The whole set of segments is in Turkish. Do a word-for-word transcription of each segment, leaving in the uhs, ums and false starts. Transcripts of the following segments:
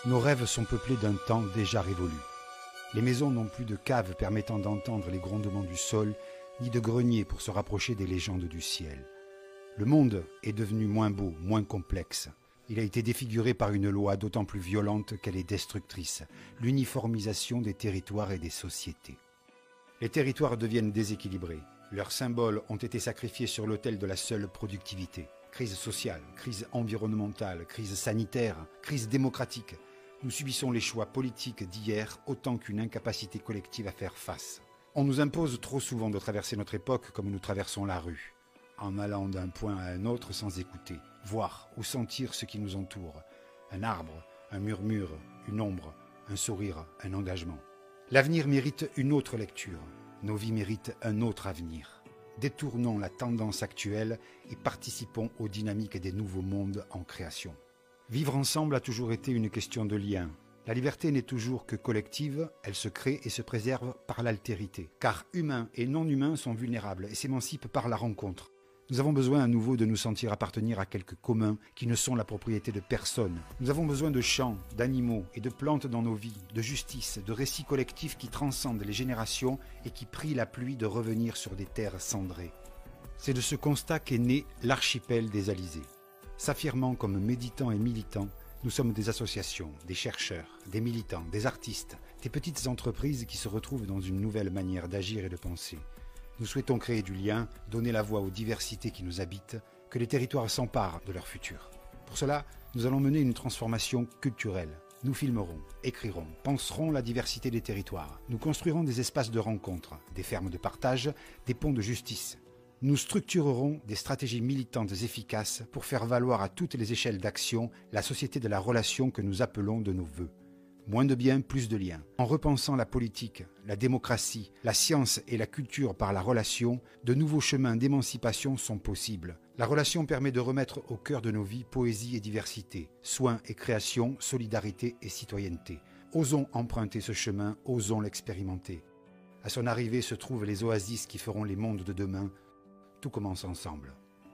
Nos rêves sont peuplés d'un temps déjà révolu. Les maisons n'ont plus de caves permettant d'entendre les grondements du sol, ni de greniers pour se rapprocher des légendes du ciel. Le monde est devenu moins beau, moins complexe. Il a été défiguré par une loi d'autant plus violente qu'elle est destructrice, l'uniformisation des territoires et des sociétés. Les territoires deviennent déséquilibrés. Leurs symboles ont été sacrifiés sur l'autel de la seule productivité. Crise sociale, crise environnementale, crise sanitaire, crise démocratique. Nous subissons les choix politiques d'hier autant qu'une incapacité collective à faire face. On nous impose trop souvent de traverser notre époque comme nous traversons la rue, en allant d'un point à un autre sans écouter, voir ou sentir ce qui nous entoure. Un arbre, un murmure, une ombre, un sourire, un engagement. L'avenir mérite une autre lecture. Nos vies méritent un autre avenir. Détournons la tendance actuelle et participons aux dynamiques des nouveaux mondes en création. Vivre ensemble a toujours été une question de lien. La liberté n'est toujours que collective, elle se crée et se préserve par l'altérité. Car humains et non-humains sont vulnérables et s'émancipent par la rencontre. Nous avons besoin à nouveau de nous sentir appartenir à quelques communs qui ne sont la propriété de personne. Nous avons besoin de champs, d'animaux et de plantes dans nos vies, de justice, de récits collectifs qui transcendent les générations et qui prient la pluie de revenir sur des terres cendrées. C'est de ce constat qu'est né l'archipel des Alizés. S'affirmant comme méditants et militants, nous sommes des associations, des chercheurs, des militants, des artistes, des petites entreprises qui se retrouvent dans une nouvelle manière d'agir et de penser. Nous souhaitons créer du lien, donner la voix aux diversités qui nous habitent, que les territoires s'emparent de leur futur. Pour cela, nous allons mener une transformation culturelle. Nous filmerons, écrirons, penserons la diversité des territoires. Nous construirons des espaces de rencontre, des fermes de partage, des ponts de justice. Nous structurerons des stratégies militantes efficaces pour faire valoir à toutes les échelles d'action la société de la relation que nous appelons de nos vœux. Moins de biens, plus de liens. En repensant la politique, la démocratie, la science et la culture par la relation, de nouveaux chemins d'émancipation sont possibles. La relation permet de remettre au cœur de nos vies poésie et diversité, soins et création, solidarité et citoyenneté. Osons emprunter ce chemin, osons l'expérimenter. À son arrivée se trouvent les oasis qui feront les mondes de demain. Tout commence ensemble.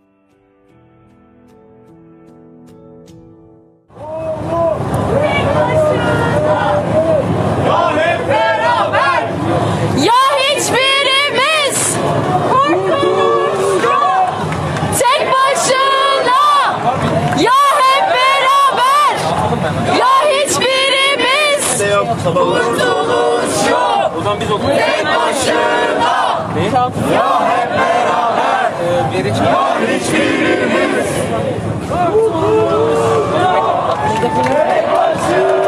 Ya hiçbirimiz kurtulmuş yok tek başına, ya hep beraber, ya hiçbirimiz kurtulmuş yok tek başına, ya hep beraber, ya hiçbirimiz kurtulmuş yok tek başına.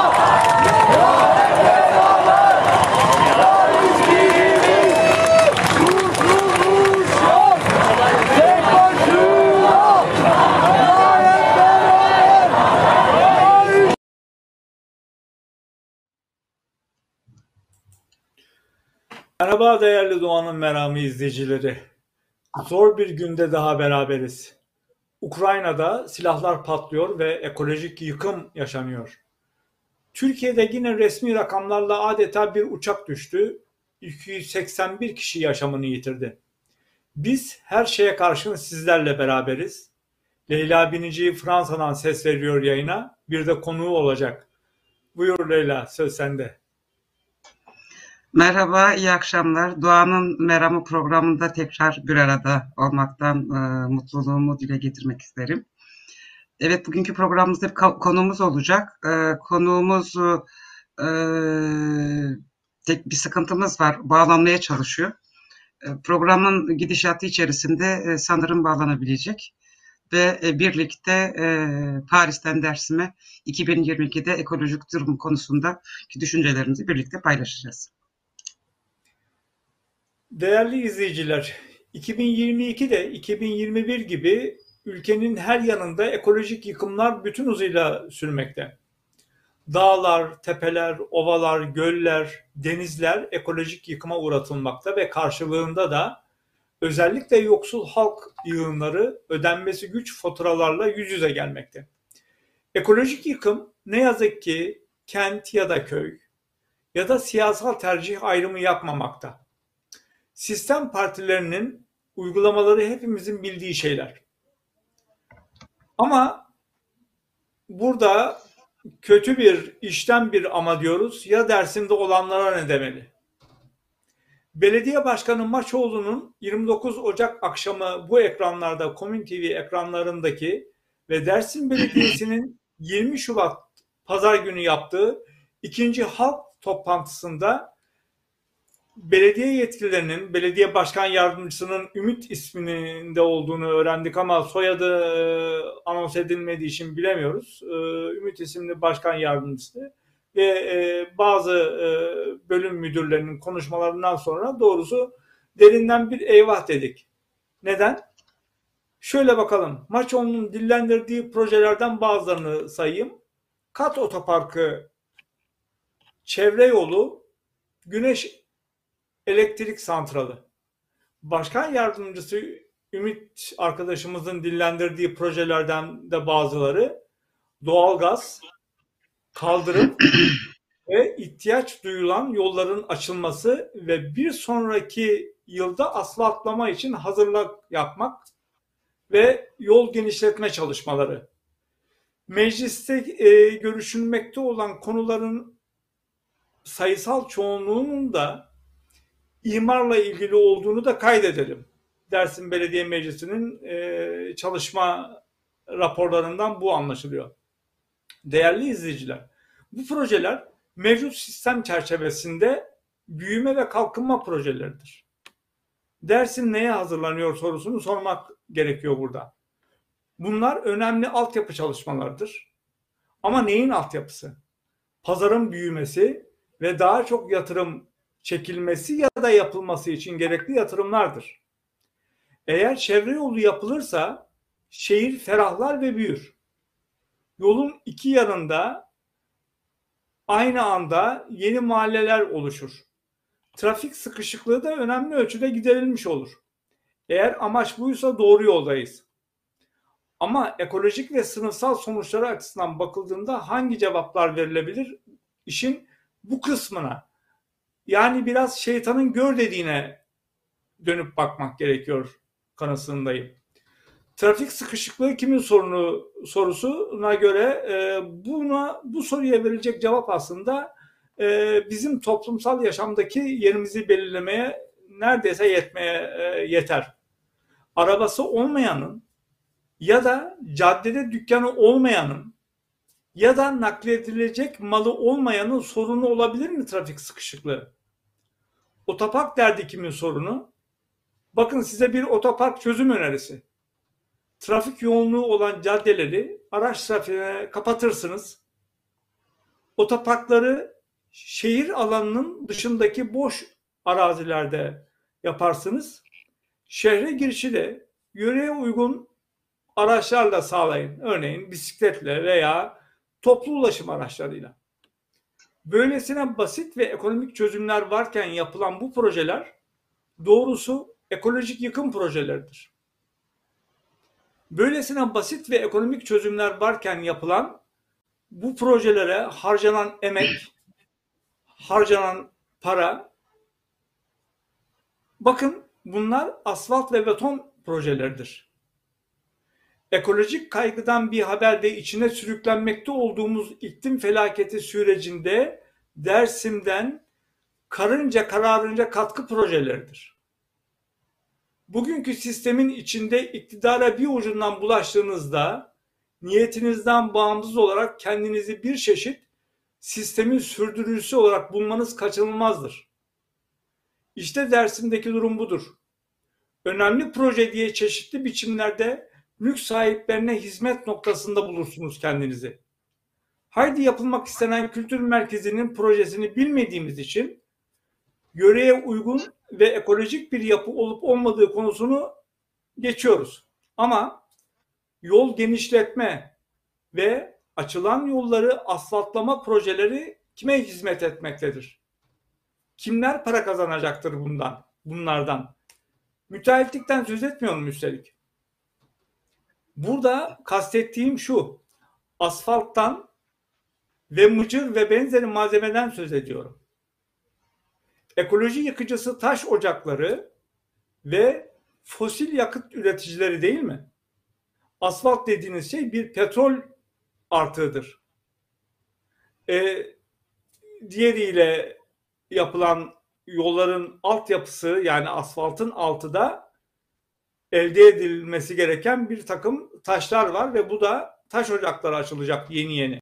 Merhaba değerli Doğan'ın Meramı izleyicileri. Zor bir günde daha beraberiz. Ukrayna'da silahlar patlıyor ve ekolojik yıkım yaşanıyor. Türkiye'de yine resmi rakamlarla adeta bir uçak düştü. iki yüz seksen bir kişi yaşamını yitirdi. Biz her şeye karşın sizlerle beraberiz. Leyla Binici Fransa'dan ses veriyor yayına. Bir de konuğu olacak. Buyur Leyla, söz sende. Merhaba, iyi akşamlar. Doğan'ın Meramı programında tekrar bir arada olmaktan e, mutluluğumu dile getirmek isterim. Evet, bugünkü programımızda bir konuğumuz olacak. E, konuğumuz e, tek bir sıkıntımız var, bağlanmaya çalışıyor. E, programın gidişatı içerisinde e, sanırım bağlanabilecek. Ve e, birlikte e, Paris'ten Dersim'e iki bin yirmi ikide ekolojik durum konusundaki düşüncelerimizi birlikte paylaşacağız. Değerli izleyiciler, iki bin yirmi ikide iki bin yirmi bir gibi ülkenin her yanında ekolojik yıkımlar bütün hızıyla sürmekte. Dağlar, tepeler, ovalar, göller, denizler ekolojik yıkıma uğratılmakta ve karşılığında da özellikle yoksul halk yığınları ödenmesi güç faturalarla yüz yüze gelmekte. Ekolojik yıkım ne yazık ki kent ya da köy ya da siyasal tercih ayrımı yapmamakta. Sistem partilerinin uygulamaları hepimizin bildiği şeyler. Ama burada kötü bir işten bir ama diyoruz, ya Dersim'de olanlara ne demeli? Belediye Başkanı Maçoğlu'nun yirmi dokuz Ocak akşamı bu ekranlarda, Komün T V ekranlarındaki ve Dersim Belediyesi'nin yirmi Şubat Pazar günü yaptığı ikinci halk toplantısında belediye yetkililerinin, belediye başkan yardımcısının Ümit isminde olduğunu öğrendik ama soyadı anons edilmediği için bilemiyoruz. Ümit isimli başkan yardımcısı ve bazı bölüm müdürlerinin konuşmalarından sonra doğrusu derinden bir eyvah dedik. Neden? Şöyle bakalım. Maçoğlu'nun dillendirdiği projelerden bazılarını sayayım. Kat otoparkı, çevre yolu, güneş elektrik santralı. Başkan yardımcısı Ümit arkadaşımızın dillendirdiği projelerden de bazıları doğalgaz, kaldırım ve ihtiyaç duyulan yolların açılması ve bir sonraki yılda asfaltlama için hazırlık yapmak ve yol genişletme çalışmaları. Mecliste e, görüşülmekte olan konuların sayısal çoğunluğunun da imarla ilgili olduğunu da kaydedelim. Dersim Belediye Meclisi'nin e, çalışma raporlarından bu anlaşılıyor. Değerli izleyiciler, bu projeler mevcut sistem çerçevesinde büyüme ve kalkınma projeleridir. Dersim neye hazırlanıyor sorusunu sormak gerekiyor burada. Bunlar önemli altyapı çalışmalarıdır. Ama neyin altyapısı? Pazarın büyümesi ve daha çok yatırım çekilmesi ya da yapılması için gerekli yatırımlardır. Eğer çevre yolu yapılırsa şehir ferahlar ve büyür. Yolun iki yanında aynı anda yeni mahalleler oluşur. Trafik sıkışıklığı da önemli ölçüde giderilmiş olur. Eğer amaç buysa doğru yoldayız. Ama ekolojik ve sınıfsal sonuçları açısından bakıldığında hangi cevaplar verilebilir? İşin bu kısmına, yani biraz şeytanın gör dediğine dönüp bakmak gerekiyor kanısındayım. Trafik sıkışıklığı kimin sorunu sorusuna göre e, buna bu soruya verilecek cevap aslında e, bizim toplumsal yaşamdaki yerimizi belirlemeye neredeyse yetmeye e, yeter. Arabası olmayanın ya da caddede dükkanı olmayanın ya da nakledilecek malı olmayanın sorunu olabilir mi trafik sıkışıklığı? Otopark derdi kimin sorunu? Bakın size bir otopark çözüm önerisi. Trafik yoğunluğu olan caddeleri araç trafiğine kapatırsınız. Otoparkları şehir alanının dışındaki boş arazilerde yaparsınız. Şehre girişi de yöreye uygun araçlarla sağlayın. Örneğin bisikletle veya toplu ulaşım araçlarıyla. Böylesine basit ve ekonomik çözümler varken yapılan bu projeler doğrusu ekolojik yıkım projeleridir. Böylesine basit ve ekonomik çözümler varken yapılan bu projelere harcanan emek, harcanan para, bakın bunlar asfalt ve beton projeleridir. Ekolojik kaygıdan bir haberde içine sürüklenmekte olduğumuz iklim felaketi sürecinde Dersim'den karınca kararınca katkı projeleridir. Bugünkü sistemin içinde iktidara bir ucundan bulaştığınızda niyetinizden bağımsız olarak kendinizi bir çeşit sistemin sürdürücüsü olarak bulmanız kaçınılmazdır. İşte Dersim'deki durum budur. Önemli proje diye çeşitli biçimlerde mülk sahiplerine hizmet noktasında bulursunuz kendinizi. Haydi yapılmak istenen kültür merkezinin projesini bilmediğimiz için yöreye uygun ve ekolojik bir yapı olup olmadığı konusunu geçiyoruz. Ama yol genişletme ve açılan yolları asfaltlama projeleri kime hizmet etmektedir? Kimler para kazanacaktır bundan, bunlardan? Müteahhitlikten söz etmiyorum üstelik. Burada kastettiğim şu, asfalttan ve mıcır ve benzeri malzemeden söz ediyorum. Ekoloji yıkıcısı taş ocakları ve fosil yakıt üreticileri değil mi? Asfalt dediğiniz şey bir petrol artığıdır. E, diğeriyle yapılan yolların altyapısı, yani asfaltın altı da elde edilmesi gereken bir takım taşlar var ve bu da taş ocakları açılacak yeni yeni.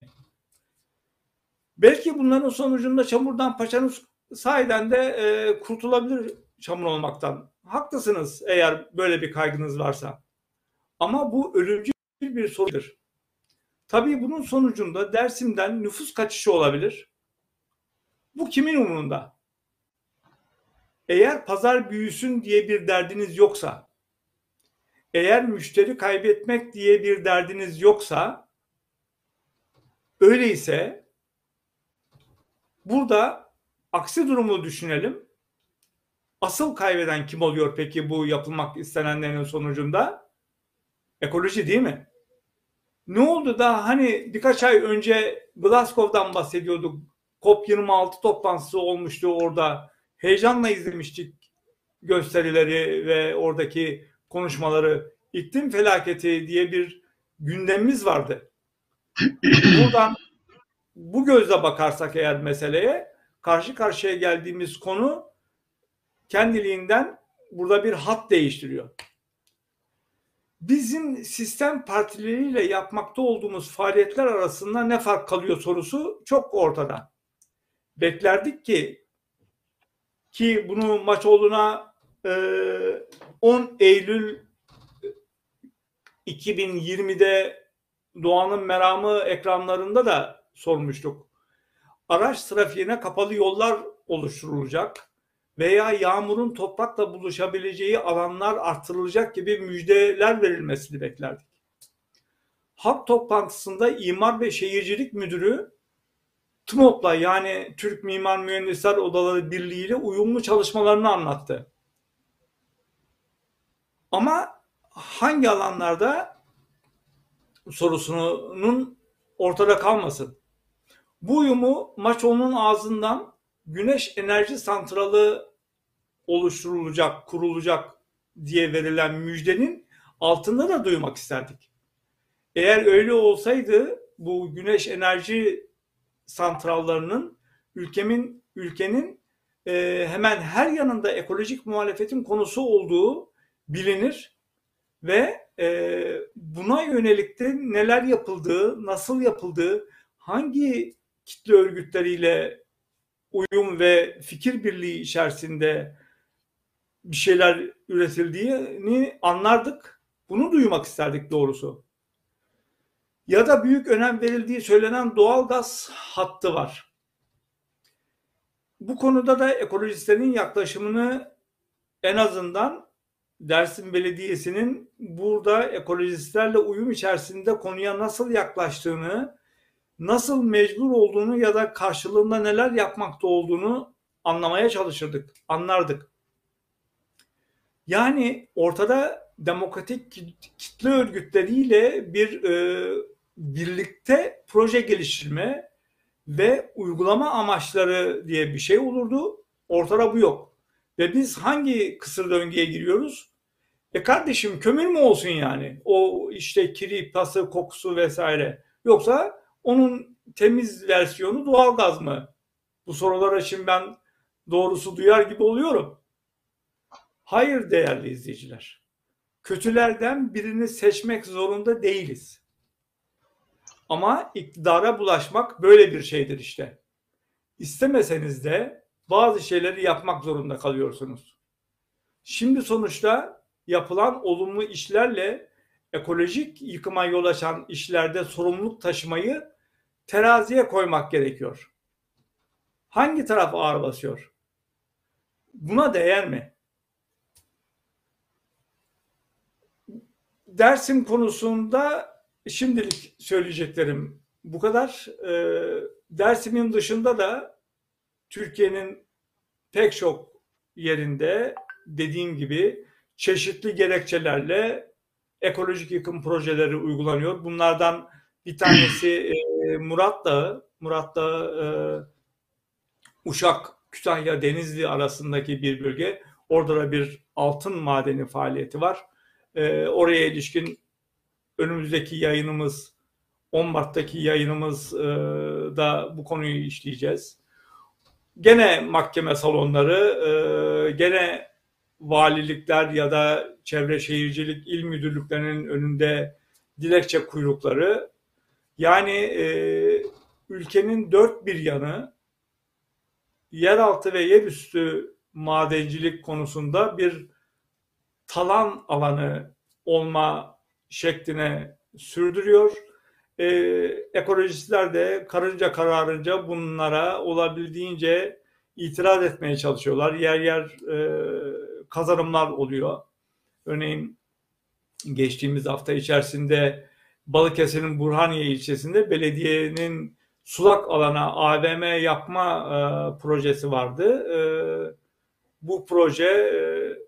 Belki bunların sonucunda çamurdan paçanız sahiden de e, kurtulabilir çamur olmaktan. Haklısınız eğer böyle bir kaygınız varsa. Ama bu ölümcül bir sorundur. Tabii bunun sonucunda Dersim'den nüfus kaçışı olabilir. Bu kimin umurunda? Eğer pazar büyüsün diye bir derdiniz yoksa, eğer müşteri kaybetmek diye bir derdiniz yoksa, öyleyse burada aksi durumu düşünelim. Asıl kaybeden kim oluyor peki bu yapılmak istenenlerin sonucunda? Ekoloji değil mi? Ne oldu da hani birkaç ay önce Glasgow'dan bahsediyorduk. COP yirmi altı toplantısı olmuştu orada. Heyecanla izlemiştik gösterileri ve oradaki konuşmaları. İklim felaketi diye bir gündemimiz vardı. Buradan bu gözle bakarsak eğer meseleye, karşı karşıya geldiğimiz konu kendiliğinden burada bir hat değiştiriyor. Bizim sistem partileriyle yapmakta olduğumuz faaliyetler arasında ne fark kalıyor sorusu çok ortada. Beklerdik ki ki bunu Maçoğlu'na e, on Eylül iki bin yirmide Doğanın Meramı ekranlarında da sormuştuk. Araç trafiğine kapalı yollar oluşturulacak veya yağmurun toprakla buluşabileceği alanlar artırılacak gibi müjdeler verilmesini beklerdik. Halk toplantısında İmar ve Şehircilik Müdürü TMOB'la, yani Türk Mimar Mühendisler Odaları Birliği ile uyumlu çalışmalarını anlattı. Ama hangi alanlarda sorusunun ortada kalmasın. Bu uyumu Maçoğlu'nun ağzından güneş enerji santralı oluşturulacak, kurulacak diye verilen müjdenin altında da duymak isterdik. Eğer öyle olsaydı bu güneş enerji santrallarının ülkemin ülkenin e, hemen her yanında ekolojik muhalefetin konusu olduğu bilinir ve e, buna yönelik de neler yapıldığı, nasıl yapıldığı, hangi kitle örgütleriyle uyum ve fikir birliği içerisinde bir şeyler üretildiğini anlardık. Bunu duymak isterdik doğrusu. Ya da büyük önem verildiği söylenen doğalgaz hattı var. Bu konuda da ekolojistlerin yaklaşımını, en azından Dersim Belediyesi'nin burada ekolojistlerle uyum içerisinde konuya nasıl yaklaştığını, nasıl mecbur olduğunu ya da karşılığında neler yapmakta olduğunu anlamaya çalışırdık, anlardık. Yani ortada demokratik kitle örgütleriyle bir e, birlikte proje geliştirme ve uygulama amaçları diye bir şey olurdu. Ortada bu yok. Ve biz hangi kısır döngüye giriyoruz? E kardeşim, kömür mü olsun yani? O işte kiri, tası, kokusu vesaire. Yoksa onun temiz versiyonu doğalgaz mı? Bu sorulara şimdi ben doğrusu duyar gibi oluyorum. Hayır değerli izleyiciler. Kötülerden birini seçmek zorunda değiliz. Ama iktidara bulaşmak böyle bir şeydir işte. İstemeseniz de bazı şeyleri yapmak zorunda kalıyorsunuz. Şimdi sonuçta yapılan olumlu işlerle ekolojik yıkıma yol açan işlerde sorumluluk taşımayı teraziye koymak gerekiyor. Hangi taraf ağır basıyor? Buna değer mi? Dersim konusunda şimdilik söyleyeceklerim bu kadar. Ee, Dersim'in dışında da Türkiye'nin pek çok yerinde dediğim gibi çeşitli gerekçelerle ekolojik yıkım projeleri uygulanıyor. Bunlardan bir tanesi e, Murat Dağı. Murat Dağı e, Uşak, Kütahya, Denizli arasındaki bir bölge. Orada da bir altın madeni faaliyeti var. E, oraya ilişkin önümüzdeki yayınımız on Mart'taki yayınımızda bu konuyu işleyeceğiz. Gene mahkeme salonları, gene valilikler ya da çevre şehircilik il müdürlüklerinin önünde dilekçe kuyrukları. Yani ülkenin dört bir yanı yeraltı ve yerüstü madencilik konusunda bir talan alanı olma şekline sürdürüyor. Ee, ekolojistler de karınca kararınca bunlara olabildiğince itiraz etmeye çalışıyorlar. Yer yer e, kazanımlar oluyor. Örneğin geçtiğimiz hafta içerisinde Balıkesir'in Burhaniye ilçesinde belediyenin sulak alana A V M yapma e, projesi vardı. E, bu proje e,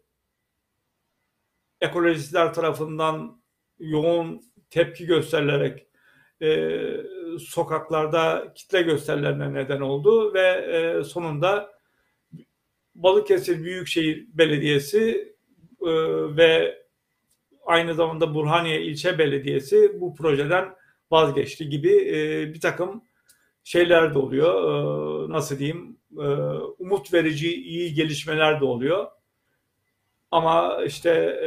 ekolojistler tarafından yoğun tepki gösterilerek e, sokaklarda kitle gösterilerine neden oldu ve e, sonunda Balıkesir Büyükşehir Belediyesi e, ve aynı zamanda Burhaniye İlçe Belediyesi bu projeden vazgeçti gibi e, bir takım şeyler de oluyor. E, nasıl diyeyim? E, umut verici iyi gelişmeler de oluyor. Ama işte e,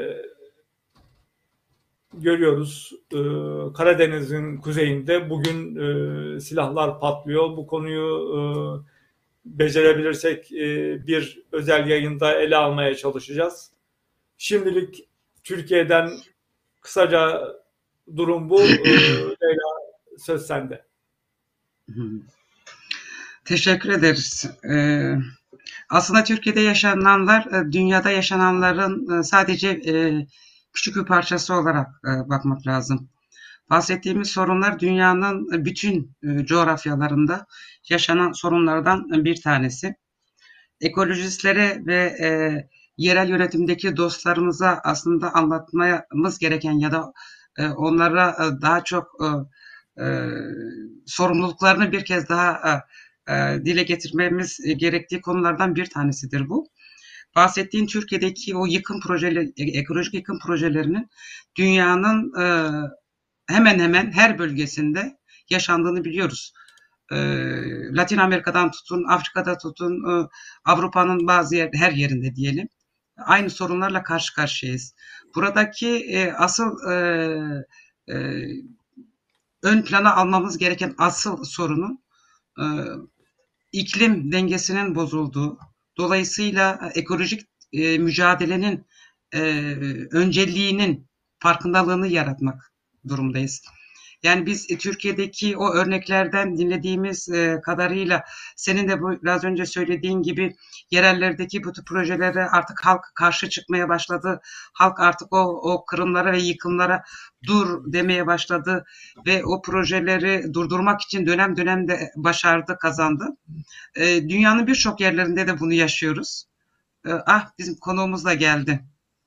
görüyoruz e, Karadeniz'in kuzeyinde bugün e, silahlar patlıyor. Bu konuyu e, becerebilirsek e, bir özel yayında ele almaya çalışacağız. Şimdilik Türkiye'den kısaca durum bu. E, Leyla, söz sende. Teşekkür ederiz. Ee, aslında Türkiye'de yaşananlar dünyada yaşananların sadece e, küçük bir parçası olarak e, bakmak lazım. Bahsettiğimiz sorunlar dünyanın bütün e, coğrafyalarında yaşanan sorunlardan bir tanesi. Ekolojistlere ve e, yerel yönetimdeki dostlarımıza aslında anlatmamız gereken ya da e, onlara e, daha çok e, e, sorumluluklarını bir kez daha e, e, dile getirmemiz gerektiği konulardan bir tanesidir bu. Bahsettiğin Türkiye'deki o yıkım projeleri, ekolojik yıkım projelerinin dünyanın e, hemen hemen her bölgesinde yaşandığını biliyoruz. E, Latin Amerika'dan tutun, Afrika'da tutun, e, Avrupa'nın bazı yer, her yerinde diyelim. Aynı sorunlarla karşı karşıyayız. Buradaki e, asıl e, e, ön plana almamız gereken asıl sorunun e, iklim dengesinin bozulduğu, dolayısıyla ekolojik e, mücadelenin e, önceliğinin farkındalığını yaratmak durumdayız. Yani biz e, Türkiye'deki o örneklerden dinlediğimiz e, kadarıyla senin de bu, biraz önce söylediğin gibi yerellerdeki bu tür projelere artık halk karşı çıkmaya başladı. Halk artık o, o kırımlara ve yıkımlara dur demeye başladı ve o projeleri durdurmak için dönem dönem de başardı, kazandı. E, dünyanın birçok yerlerinde de bunu yaşıyoruz. E, ah bizim konuğumuz da geldi.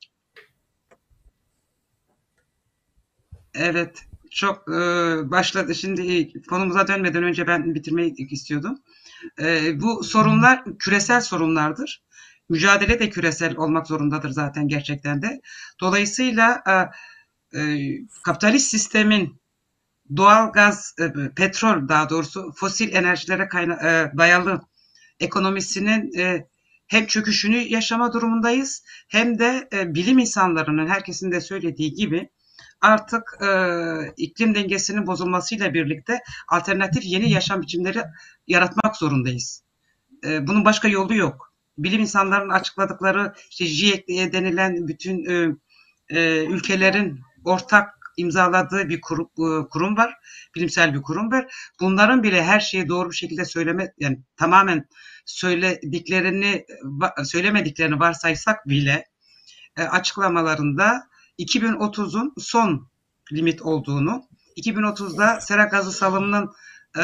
Evet. Çok e, başladı. Şimdi konumuza dönmeden önce ben bitirmeyi istiyordum. E, bu sorunlar küresel sorunlardır. Mücadele de küresel olmak zorundadır zaten gerçekten de. Dolayısıyla e, e, kapitalist sistemin doğal gaz, e, petrol daha doğrusu fosil enerjilere kayna, e, dayalı ekonomisinin e, hem çöküşünü yaşama durumundayız hem de e, bilim insanlarının herkesin de söylediği gibi artık e, iklim dengesinin bozulmasıyla birlikte alternatif yeni yaşam biçimleri yaratmak zorundayız. E, bunun başka yolu yok. Bilim insanlarının açıkladıkları işte GIEC denilen bütün e, e, ülkelerin ortak imzaladığı bir kurum, e, kurum var. Bilimsel bir kurum var. Bunların bile her şeyi doğru bir şekilde söyleme, yani tamamen söylediklerini söylemediklerini varsaysak bile e, açıklamalarında iki bin otuzun son limit olduğunu, iki bin otuzda sera gazı salımının e,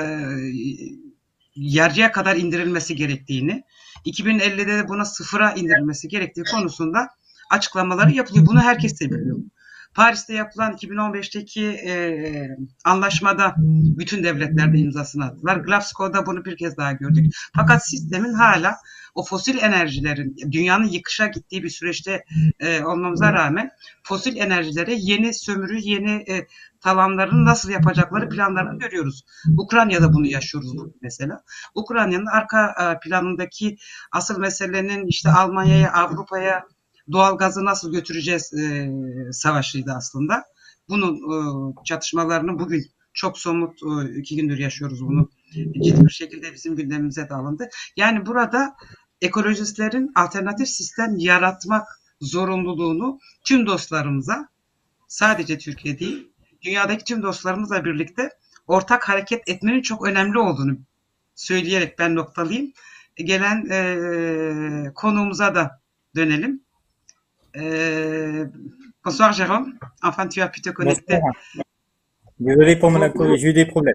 yarıya kadar indirilmesi gerektiğini, iki bin ellide de buna sıfıra indirilmesi gerektiği konusunda açıklamaları yapılıyor. Bunu herkes de biliyor. Paris'te yapılan iki bin on beşteki e, anlaşmada bütün devletler de imzasını attılar. Glasgow'da bunu bir kez daha gördük. Fakat sistemin hala o fosil enerjilerin dünyanın yıkışa gittiği bir süreçte e, olmamıza rağmen fosil enerjilere yeni sömürü, yeni e, talanlarını nasıl yapacakları planlarını görüyoruz. Ukrayna'da bunu yaşıyoruz mesela. Ukrayna'nın arka planındaki asıl meselenin işte Almanya'ya, Avrupa'ya doğal gazı nasıl götüreceğiz e, savaşıydı aslında. Bunun e, çatışmalarını bugün çok somut e, iki gündür yaşıyoruz bunu. Ciddi bir şekilde bizim gündemimize de alındı. Yani burada ekolojistlerin alternatif sistem yaratmak zorunluluğunu tüm dostlarımıza, sadece Türkiye değil, dünyadaki tüm dostlarımızla birlikte ortak hareket etmenin çok önemli olduğunu söyleyerek ben noktalayayım. Gelen e, konuğumuza da dönelim. E, bonsoir Jérôme. Enfin, tu as pu te connecter. Désolé pour mon accueil, j'ai eu des problèmes.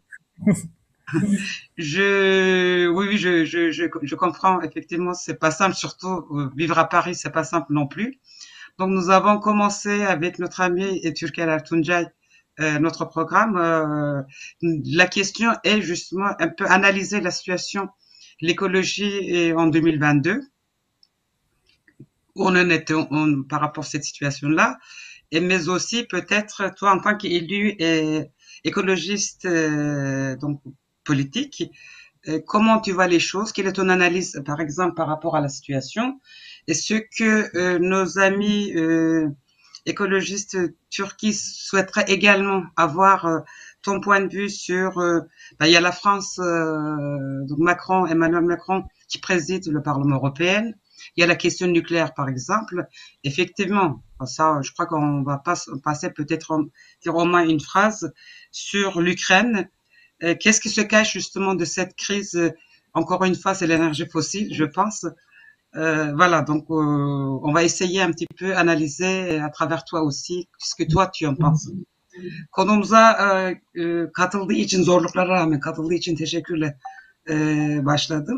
je, oui, oui, je, je, je, je comprends. Effectivement, c'est pas simple, surtout euh, vivre à Paris, c'est pas simple non plus. Donc, nous avons commencé avec notre ami Türker Ertuncay euh, notre programme. Euh, la question est justement un peu analyser la situation, l'écologie en deux mille vingt-deux. Où on en était on, par rapport à cette situation-là. Et, mais aussi, peut-être, toi, en tant qu'élu et écologiste, euh, donc politique, euh, comment tu vois les choses? Quelle est ton analyse, par exemple, par rapport à la situation? Et ce que euh, nos amis euh, écologistes turcs souhaiteraient également avoir euh, ton point de vue sur... Euh, ben, il y a la France, euh, donc Macron, Emmanuel Macron, qui préside le Parlement européen. Il y a la question nucléaire, par exemple. Effectivement, ça, je crois qu'on va pas passer peut-être dire au moins une phrase sur l'Ukraine. Euh, qu'est-ce qui se cache justement de cette crise? Encore une fois, c'est l'énergie fossile, je pense. Euh, voilà, donc euh, on va essayer un petit peu analyser à travers toi aussi ce que toi tu en penses. Konumuza e, e, katıldığı için, zorluklara rağmen katıldığı için teşekkürle e, başladım.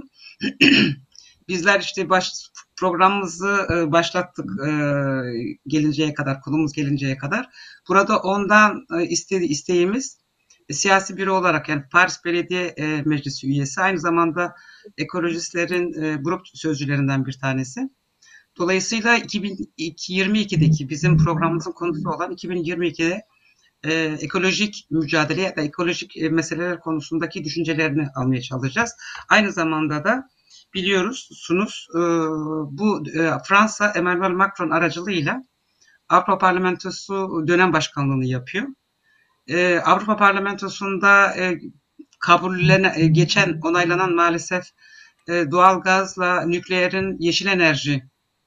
Bizler işte baş, programımızı e, başlattık e, gelinceye kadar, konumuz gelinceye kadar. Burada ondan e, istedi, isteğimiz e, siyasi biri olarak, yani Paris Belediye e, Meclisi üyesi, aynı zamanda ekolojistlerin e, grup sözcülerinden bir tanesi. Dolayısıyla iki bin yirmi ikideki bizim programımızın konusu olan iki bin yirmi ikide e, ekolojik mücadele ya da ekolojik e, meseleler konusundaki düşüncelerini almaya çalışacağız. Aynı zamanda da biliyorsunuz e, bu e, Fransa Emmanuel Macron aracılığıyla Avrupa Parlamentosu dönem başkanlığını yapıyor. E, Avrupa Parlamentosu'nda e, kabullene, e, geçen onaylanan maalesef e, doğalgazla nükleerin yeşil enerji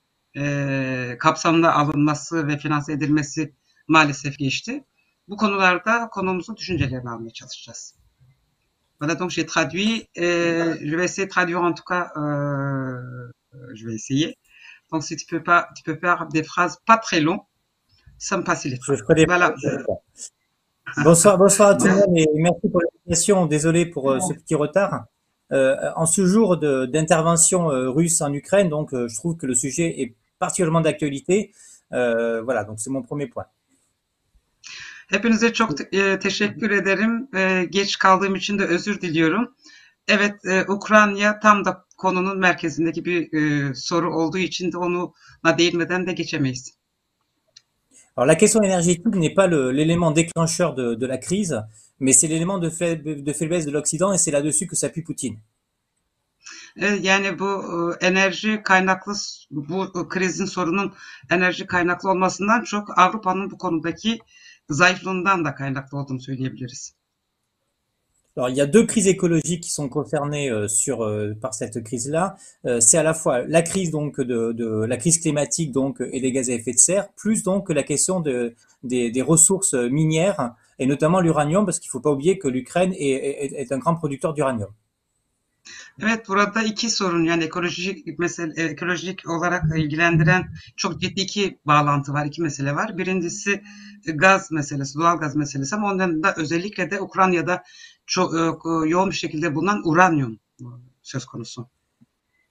e, kapsamına alınması ve finanse edilmesi maalesef geçti. Bu konularda konumuzun düşüncelerini almaya çalışacağız. Voilà, donc j'ai traduit, euh, je vais essayer de traduire en tout cas, euh, je vais essayer. Donc si tu peux pas, tu peux faire des phrases pas très longues, ça me facilitera. Je ferai des voilà. Bonsoir, bonsoir à tout le monde et merci pour l'invitation. Désolé pour euh, ce petit retard. Euh, en ce jour de, d'intervention euh, russe en Ukraine, donc euh, je trouve que le sujet est particulièrement d'actualité. Euh, voilà, donc c'est mon premier point. Hepinize çok te- teşekkür ederim. E, geç kaldığım için de özür diliyorum. Evet, e, Ukrayna tam da konunun merkezindeki bir e, soru olduğu için de ona değinmeden de geçemeyiz. Alors la question énergétique n'est pas le, l'élément déclencheur de, de la crise, mais c'est l'élément de, faible, de faiblesse de l'Occident et c'est là-dessus que s'appuie Poutine. E, yani bu e, enerji kaynaklı, bu krizin sorunun enerji kaynaklı olmasından çok Avrupa'nın bu konudaki zayıflığından da kaynaklı olduğunu söyleyebiliriz. Alors, il y a deux crises écologiques qui sont concernées euh, sur, euh, par cette crise-là. Euh, c'est à la fois la crise donc de, de la crise climatique donc et des gaz à effet de serre, plus donc la question de, des, des ressources minières et notamment l'uranium, parce qu'il ne faut pas oublier que l'Ukraine est, est, est un grand producteur d'uranium. Evet, burada iki sorun, yani ekolojik mesele, ekolojik olarak ilgilendiren çok ciddi iki bağlantı var, iki mesele var. Birincisi gaz meselesi, doğal gaz meselesi, ama ondan da özellikle de Ukrayna'da çok yoğun bir şekilde bulunan uranyum söz konusu.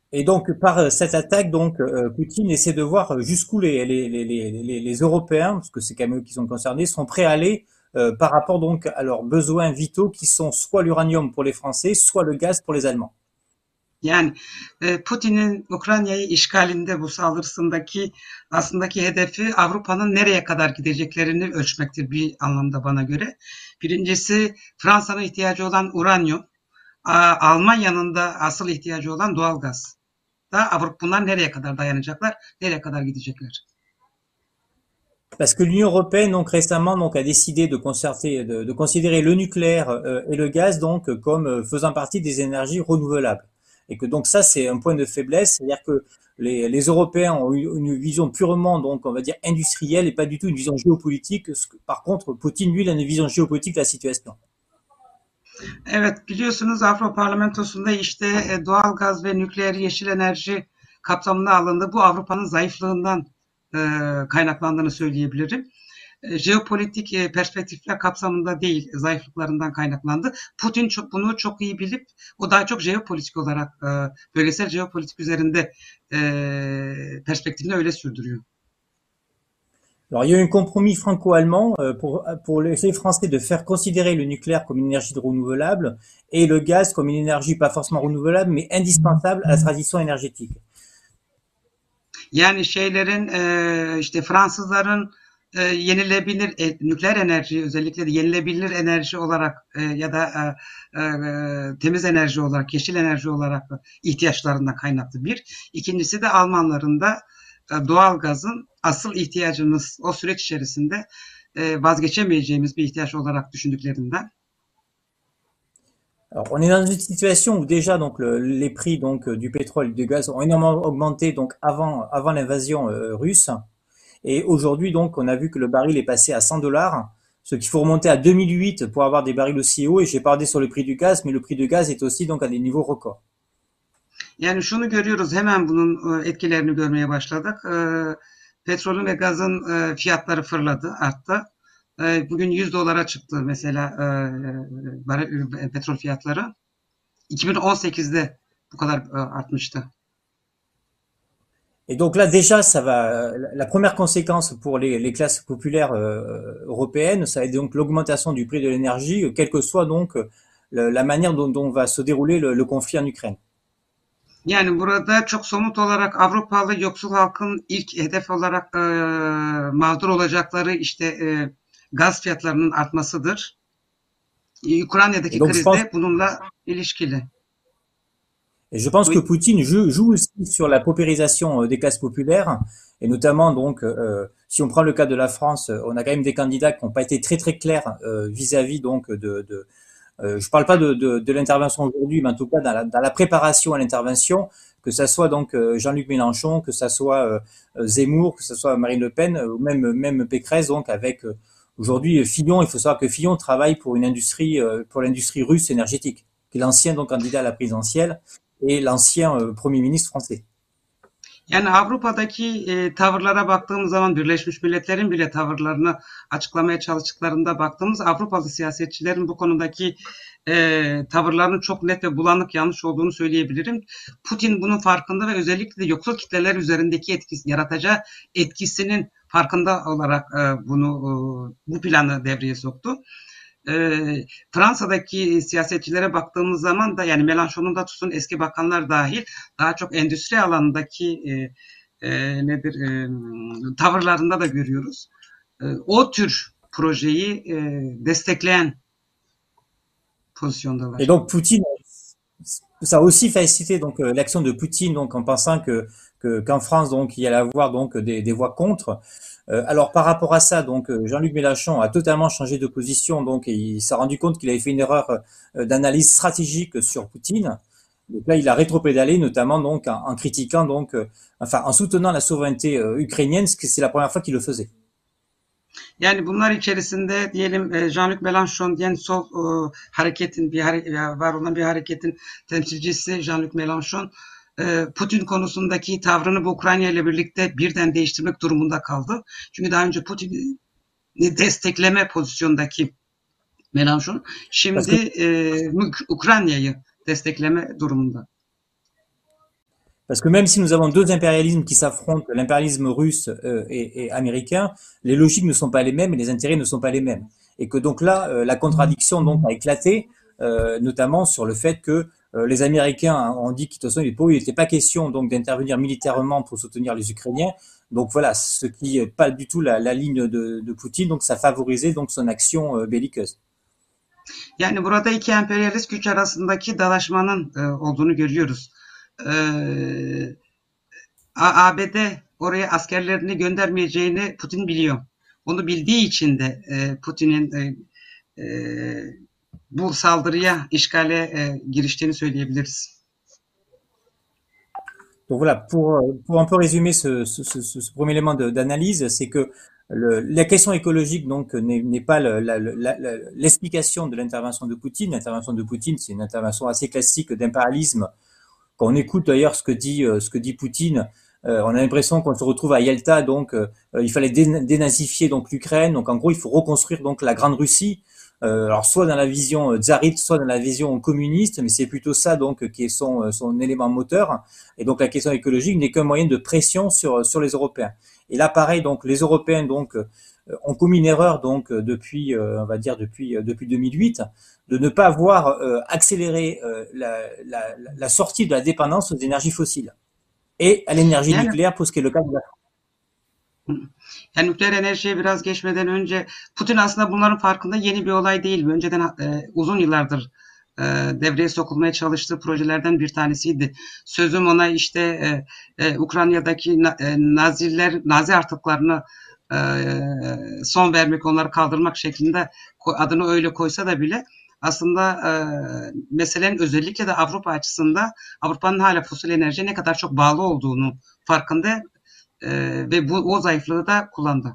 Et donc, par euh, cette attaque, donc, euh, Poutine essaie de voir jusqu'où les, les, les, les, les Européens, parce que c'est quand même eux qui sont concernés, sont prêts à aller euh, par rapport donc à leurs besoins vitaux qui sont soit l'uranium pour les Français, soit le gaz pour les Allemands. Yani e, Putin'in Ukrayna'yı işgalinde bu saldırısındaki aslındaki hedefi Avrupa'nın nereye kadar gideceklerini ölçmektir bir anlamda bana göre. Birincisi Fransa'nın ihtiyacı olan uranyum, Almanya'nın da asıl ihtiyacı olan doğalgaz. Da Avrupa bunlar nereye kadar dayanacaklar, nereye kadar gidecekler? Parce que l'Union européenne donc récemment donc a décidé de concerter, de, de considérer le nucléaire euh, et le gaz donc comme euh, faisant partie des énergies renouvelables. Et que donc ça c'est un point de faiblesse, c'est-à-dire que les, les Européens ont eu une vision purement donc on va dire industrielle et pas du tout une vision géopolitique. Par contre, Poutine lui il a une vision géopolitique de la situation. Evet, biliyorsunuz Avrupa Parlamentosu'nda işte e, doğal gaz ve nükleer yeşil enerji kapsamına alındı. Bu Avrupa'nın zayıflığından e, kaynaklandığını söyleyebilirim. E, jeopolitik e, perspektifler kapsamında değil, zayıflıklarından kaynaklandı. Putin çok, bunu çok iyi bilip o daha çok jeopolitik olarak e, bölgesel jeopolitik üzerinde e, perspektifini öyle sürdürüyor. Alors, il y a eu un compromis franco-allemand euh, pour, pour les Français de faire considérer le nucléaire comme une énergie renouvelable et le gaz comme une énergie pas forcément renouvelable, mais indispensable à la transition énergétique. Yani şeylerin e, işte Fransızların e, yenilebilir e, nükleer enerji özellikle de yenilebilir enerji olarak e, ya da e, e, temiz enerji olarak, yeşil enerji olarak ihtiyaçlarından kaynaklı bir. İkincisi de Almanların da e, doğal gazın asıl ihtiyacımız o süreç içerisinde e, vazgeçemeyeceğimiz bir ihtiyaç olarak düşündüklerinden. Alors, on est dans une situation où déjà donc le, les prix donc du pétrole et du gaz ont énormément augmenté donc avant avant l'invasion euh, russe et aujourd'hui donc on a vu que le baril est passé à cent dollars, ce qu'il faut remonter à deux mille huit pour avoir des barils aussi hauts et j'ai parlé sur le prix du gaz mais le prix du gaz est aussi donc à des niveaux records. Yani şunu görüyoruz hemen bunun etkilerini görmeye başladık. E, petrolün ve gazın e, fiyatları fırladı, arttı. Bugün yüz dolara çıktı mesela e, petrol fiyatları. iki bin on sekizde bu kadar e, artmıştı. Et donc là déjà ça va la première conséquence pour les, les classes populaires euh, européennes, ça va être donc l'augmentation du prix de l'énergie, quelle que soit donc le, la manière dont, dont va se dérouler le, le conflit en Ukraine. Yani burada çok somut olarak Avrupalı yoksul halkın ilk hedef olarak e, mağdur olacakları işte e, gaz fiyatlarının artmasıdır. Ukrayna'daki kriz de bununla ilişkili. Et je pense oui. que Poutine joue, joue aussi sur la paupérisation des classes populaires, et notamment donc, euh, si on prend le cas de la France, on a quand même des candidats qui n'ont pas été très très clairs euh, vis-à-vis donc de, de euh, je parle pas de, de, de l'intervention aujourd'hui, mais en tout cas dans la, dans la préparation à l'intervention, que ça soit donc Jean-Luc Mélenchon, que ça soit euh, Zemmour, que ça soit Marine Le Pen, ou même même Pécresse, donc avec euh, aujourd'hui Fillon. Il faut savoir que Fillon travaille pour une industrie, euh, pour l'industrie russe énergétique, qui est l'ancien donc candidat à la présidentielle et l'ancien euh, Premier ministre français. Yani Avrupa'daki e, tavırlara baktığımız zaman Birleşmiş Milletler'in bile tavırlarını açıklamaya çalıştıklarında baktığımız Avrupalı siyasetçilerin bu konudaki e, tavırlarının çok net ve bulanık yanlış olduğunu söyleyebilirim. Putin bunun farkında ve özellikle de yoksul kitleler üzerindeki etkisi, yaratacağı etkisinin farkında olarak e, bunu e, bu planı devreye soktu. E, Fransa'daki siyasetçilere baktığımız zaman da yani Mélenchon'un da tutun eski bakanlar dahil daha çok endüstri alanındaki e, e, nedir e, tavırlarında da görüyoruz. E, o tür projeyi e, destekleyen pozisyondalar. Et donc Poutine, ça a aussi facilité donc euh, l'action de Poutine donc en pensant que que qu'en France donc il y allait avoir donc des, des voix contre. Euh, alors par rapport à ça donc Jean-Luc Mélenchon a totalement changé de position donc et il s'est rendu compte qu'il avait fait une erreur euh, d'analyse stratégique sur Poutine. Donc là il a rétropédalé notamment donc en, en critiquant donc euh, enfin en soutenant la souveraineté euh, ukrainienne, ce que c'est la première fois qu'il le faisait. Yani bunlar içerisinde diyelim Jean-Luc Mélenchon diyen sol e, hareketin bir hare, var olan bir hareketin temsilcisi Jean-Luc Mélenchon e, Putin konusundaki tavrını bu Ukrayna ile birlikte birden değiştirmek durumunda kaldı. Çünkü daha önce Putin'i destekleme pozisyondaki Mélenchon şimdi e, Ukrayna'yı destekleme durumunda. Parce que même si nous avons deux impérialismes qui s'affrontent, l'impérialisme russe euh, et, et américain, les logiques ne sont pas les mêmes et les intérêts ne sont pas les mêmes. Et que donc là, euh, la contradiction donc a éclaté, euh, notamment sur le fait que euh, les Américains ont dit qu'il n'était pas question donc d'intervenir militairement pour soutenir les Ukrainiens. Donc voilà, ce qui n'est pas du tout la, la ligne de, de Poutine. Donc ça favorisait donc son action euh, belliqueuse. Yani burada iki emperyalist güç arasındaki dalaşmanın e, olduğunu görüyoruz. Ee, A B D oraya askerlerini göndermeyeceğini Putin biliyor. Onu bildiği için de e, Putin'in e, e, bu saldırıya, işgale e, giriştiğini söyleyebiliriz. Donc voilà, pour, pour un peu résumer ce, ce, ce, ce premier élément d'analyse, c'est que le, la question écologique donc n'est pas l'explication le, de l'intervention de Poutine. L'intervention de Poutine, c'est une intervention assez classique d'impérialisme. Quand on écoute d'ailleurs ce que dit ce que dit Poutine, euh, on a l'impression qu'on se retrouve à Yalta, donc euh, il fallait dénazifier donc l'Ukraine. Donc en gros, il faut reconstruire donc la Grande Russie. Euh, alors soit dans la vision tsariste, soit dans la vision communiste, mais c'est plutôt ça donc qui est son son élément moteur. Et donc la question écologique n'est qu'un moyen de pression sur sur les Européens. Et là, pareil, donc les Européens donc euh, ont commis une erreur donc depuis, euh, on va dire depuis depuis deux mille huit, de ne pas avoir euh, accéléré euh, la, la la sortie de la dépendance aux énergies fossiles et à l'énergie yani, nucléaire pour ce qui est le cas de la France. Yani nükleer enerjiye biraz geçmeden önce Putin aslında bunların farkında, yeni bir olay değil. Önceden e, uzun yıllardır e, devreye sokulmaya çalıştığı projelerden bir tanesiydi. Sözüm ona işte e, e, Ukrayna'daki na, e, Naziler, Nazi artıklarını e, son vermek, onları kaldırmak şeklinde adını öyle koysa da bile aslında e, meselenin özellikle de Avrupa açısından Avrupa'nın hala fosil enerjiye ne kadar çok bağlı olduğunu farkında. Ee, ve bu o zayıflığı da kullandı.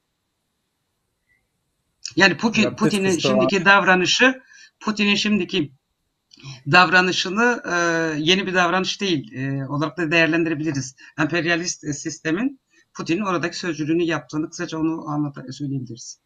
Yani Putin, Putin'in şimdiki davranışı, Putin'in şimdiki davranışını e, yeni bir davranış değil e, olarak da değerlendirebiliriz. Emperyalist e, sistemin Putin'in oradaki sözcülüğünü yaptığını kısaca onu anlata söyleyebiliriz.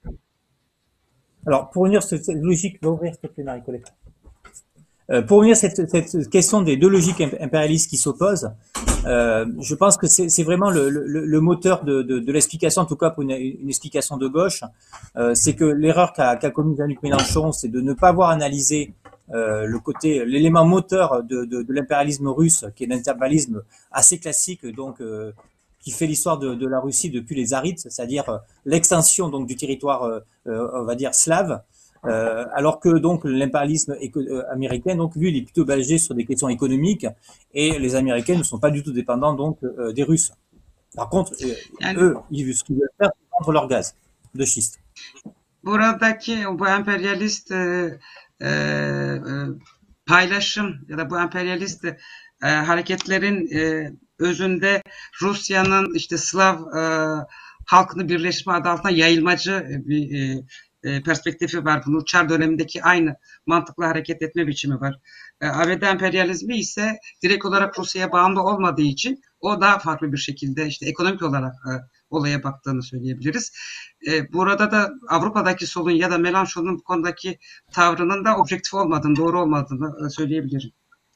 Alors pour unir cette logique, l'ouvrir s'il te plaît, Marie-Colette. Euh, pour revenir à cette, cette question des deux logiques impérialistes qui s'opposent, euh, je pense que c'est vraiment le, le, le moteur de, de, de l'explication, en tout cas pour une, une explication de gauche. Euh, c'est que l'erreur qu'a qu'a commis Jean-Luc Mélenchon, c'est de ne pas avoir analysé euh, le côté, l'élément moteur de, de, de l'impérialisme russe, qui est l'impérialisme assez classique, donc euh, qui fait l'histoire de, de la Russie depuis les Tsarites, c'est-à-dire euh, l'extension donc du territoire, euh, on va dire slave. Euh, alors que donc l'impérialisme euh, américain, donc lui, il est plutôt basé sur des questions économiques et les Américains ne sont pas du tout dépendants donc euh, des Russes. Par contre, euh, eux, ils, ce qu'ils veulent faire, c'est vendre leur gaz de schiste. Buradaki bu emperyalist e, e, paylaşım ya da bu emperyalist e, hareketlerin e, özünde Rusya'nın işte Slav e, halkını birleşme adı altında yayılmacı bir e, perspektifi var. Bunun Çar dönemindeki aynı mantıkla hareket etme biçimi var. E, A B D emperyalizmi ise direkt olarak Rusya'ya bağımlı olmadığı için o daha farklı bir şekilde işte ekonomik olarak e, olaya baktığını söyleyebiliriz. E, burada da Avrupa'daki solun ya da Mélenchon'un bu konudaki tavrının da objektif olmadığını, doğru olmadığını e, söyleyebilirim.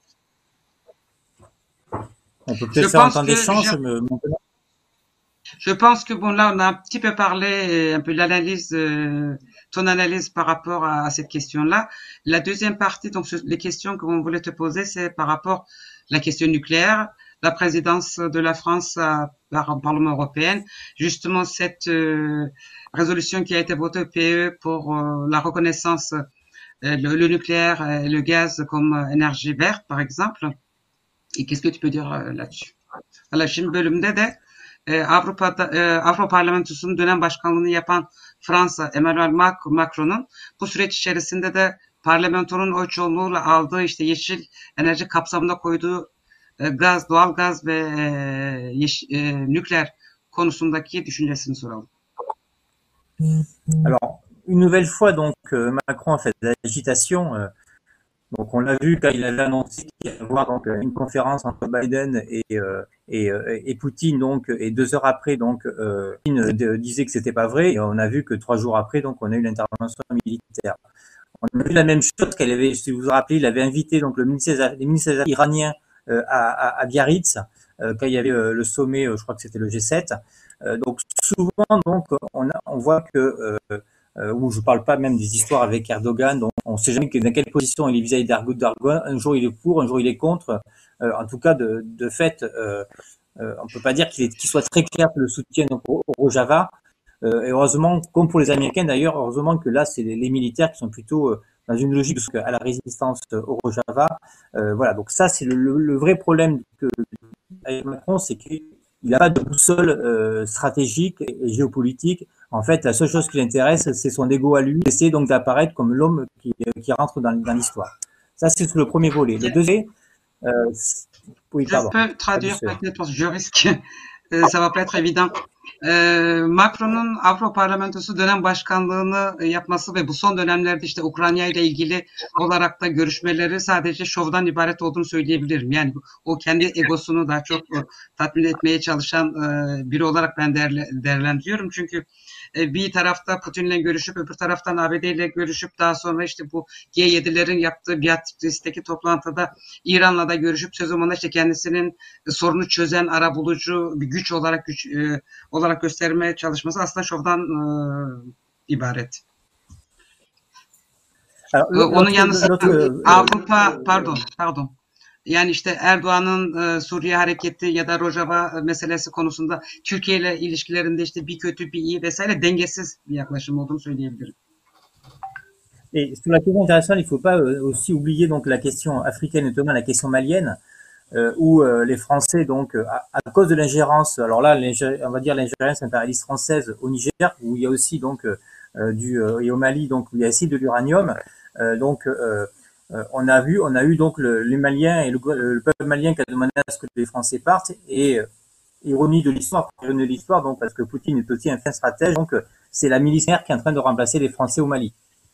On peut peut-être faire un temps d'échange. Je pense que bon là on a un petit peu parlé un peu de l'analyse, euh, ton analyse par rapport à, à cette question-là. La deuxième partie, donc les questions qu'on voulait te poser, c'est par rapport à la question nucléaire, la présidence de la France à, par le Parlement européen, justement cette euh, résolution qui a été votée au P E pour euh, la reconnaissance euh, le, le nucléaire et le gaz comme énergie verte par exemple. Et qu'est-ce que tu peux dire euh, là-dessus? Alors şimdi bölümde de Avrupa'da Avrupa Parlamentosu'nun dönem başkanlığını yapan Fransa Emmanuel Macron'un bu süreç içerisinde de parlamentonun oy çoğunluğuyla aldığı işte yeşil enerji kapsamında koyduğu gaz, doğal gaz ve yeşil, nükleer konusundaki düşüncesini soralım. Alors, une nouvelle fois, donc Macron a fait de l'agitation. Donc on l'a vu quand il avait annoncé qu'il y allait avoir donc une conférence entre Biden et euh, et, et Poutine, donc et deux heures après donc euh, Poutine disait que c'était pas vrai et on a vu que trois jours après donc on a eu l'intervention militaire. On a vu la même chose qu'elle avait, si vous vous rappelez, il avait invité donc le ministère, les ministères iranien euh, à, à, à Biarritz euh, quand il y avait euh, le sommet, euh, je crois que c'était le G sept. Euh, donc souvent, donc on, a, on voit que euh, euh, où je parle pas même des histoires avec Erdogan, donc on sait jamais dans quelle position il est vis-à-vis d'Erdogan. Un jour il est pour, un jour il est contre. Euh, en tout cas, de, de fait, euh, euh, on peut pas dire qu'il qu'il soit très clair que le soutien au, au Rojava. Euh, et heureusement, comme pour les Américains d'ailleurs, heureusement que là, c'est les, les militaires qui sont plutôt euh, dans une logique à la résistance au Rojava. Euh, voilà, donc ça, c'est le, le, le vrai problème que avec Macron, c'est qu'il n'a pas de boussole euh, stratégique et, et géopolitique. En fait, la seule chose qui l'intéresse, c'est son ego à lui, essayer donc d'apparaître comme l'homme qui, qui rentre dans, dans l'histoire. Ça, c'est le premier volet. Le deuxième, euh, oui, Je pardon. peux traduire peut-être parce que je risque, e, ça va pas être évident. E, Macron'un Avrupa Parlamentosu dönem başkanlığını yapması ve bu son dönemlerde işte Ukrayna ile ilgili olarak da görüşmeleri sadece şovdan ibaret olduğunu söyleyebilirim. Yani o kendi egosunu daha çok tatmin etmeye çalışan e, biri olarak ben değerli, değerlendiriyorum. Çünkü e, bir tarafta Putin'le görüşüp öbür taraftan A B D ile görüşüp daha sonra işte bu G yedilerin yaptığı Biarritz'teki toplantıda İran'la da görüşüp söz zamanında işte kendisinin sorunu çözen arabulucu bir güç olarak güç e, olarak göstermeye çalışması aslında şovdan e, ibaret. Alors, Onun yanı sıra Avrupa pardon pardon yani işte Erdoğan'ın e, Suriye hareketi ya da Rojava meselesi konusunda Türkiye ile ilişkilerinde işte bir kötü bir iyi vesaire dengesiz bir yaklaşım olduğunu söyleyebilirim. Et sur la question internationale, il ne faut pas euh, aussi oublier donc la question africaine, notamment la question malienne, euh, où euh, les Français, donc à, à cause de l'ingérence, alors là, on va dire l'ingérence impérialiste française au Niger, où il y a aussi donc euh, du euh, et au Mali, donc où il y a aussi de l'uranium, euh, donc euh, euh, on a vu, on a eu donc le, les Maliens et le, le peuple malien qui a demandé à ce que les Français partent, et euh, ironie de l'histoire, ironie de l'histoire, donc parce que Poutine est aussi un fin stratège, donc c'est la milice qui est en train de remplacer les Français au Mali.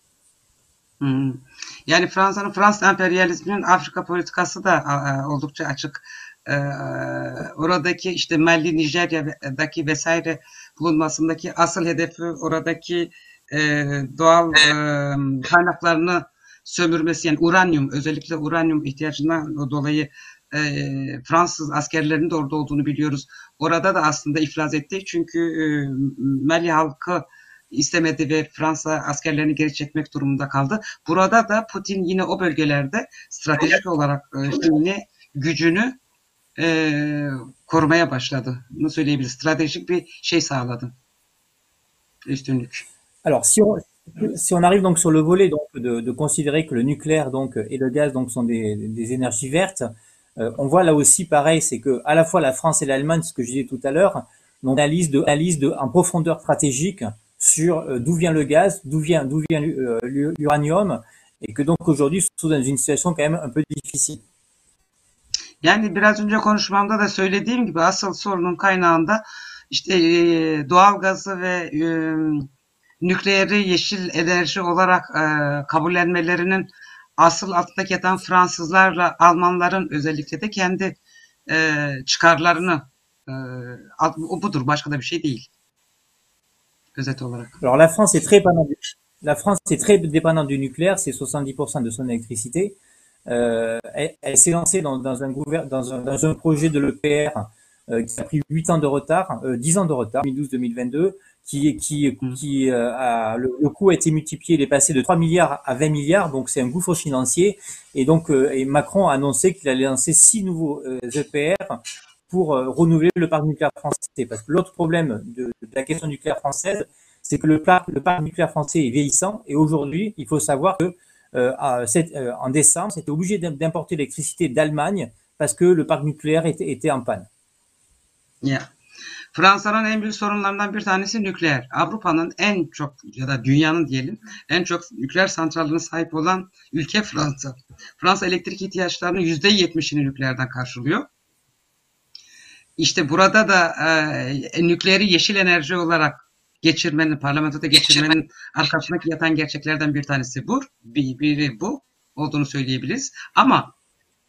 Hmm. Yani Fransa'nın Fransız emperyalizminin Afrika politikası da e, oldukça açık. E, oradaki işte Mali, Nijerya'daki vesaire bulunmasındaki asıl hedefi oradaki e, doğal e, kaynaklarını sömürmesi, yani uranyum, özellikle uranyum ihtiyacından dolayı e, Fransız askerlerinin de orada olduğunu biliyoruz. Orada da aslında iflas etti çünkü e, Mali halkı istemedi ve Fransa askerlerini geri çekmek durumunda kaldı. Burada da Putin yine o bölgelerde stratejik olarak işte yine gücünü e, korumaya başladı. Bunu söyleyebiliriz. Stratejik bir şey sağladı. Üstünlük. Alors si on, si on arrive donc sur le volet donc de, de considérer que le nucléaire donc et le gaz donc sont des, des énergies vertes, euh, on voit là aussi pareil, c'est que à la fois la France et l'Allemagne, ce que je disais tout à l'heure, donc analyse de analyse de en profondeur stratégique sur euh, d'où vient le gaz, d'où vient d'où vient euh, l'uranium, et que donc aujourd'hui se trouve dans une situation quand même un peu difficile. Yani biraz önce konuşmamda da söylediğim gibi asıl sorunun kaynağında işte e, doğal gazı ve e, nükleeri yeşil enerji olarak e, kabullenmelerinin asıl altındaki yatan Fransızlarla Almanların özellikle de kendi e, çıkarlarını e, o budur, başka da bir şey değil. Özet olarak. Alors la France est très dépendante du, la France est très dépendante du nucléaire, c'est soixante-dix pour cent de son électricité. Euh, elle, elle s'est lancée dans, dans, un dans, un, dans un projet de l'E P R euh, qui a pris huit ans de retard, euh, dix ans de retard, deux mille douze deux mille vingt-deux, qui, qui, qui euh, a, le, le coût a été multiplié, il est passé de trois milliards à vingt milliards, donc c'est un gouffre financier. Et donc euh, et Macron a annoncé qu'il allait lancer six nouveaux euh, E P R pour euh, renouveler le parc nucléaire français. Parce que l'autre problème de, de la question nucléaire française, c'est que le parc, le parc nucléaire français est vieillissant, et aujourd'hui, il faut savoir que euh, à, cette, euh, en décembre, c'était obligé d'importer l'électricité d'Allemagne parce que le parc nucléaire était, était en panne. Yeah. Fransa'nın en büyük sorunlarından bir tanesi nükleer. Avrupa'nın en çok ya da dünyanın diyelim en çok nükleer santrallerine sahip olan ülke Fransa. Fransa elektrik ihtiyaçlarının yüzde yetmişini nükleerden karşılıyor. İşte burada da e, nükleeri yeşil enerji olarak geçirmenin, parlamentoda geçirmenin arkasındaki yatan gerçeklerden bir tanesi bu. Bir, biri bu olduğunu söyleyebiliriz. Ama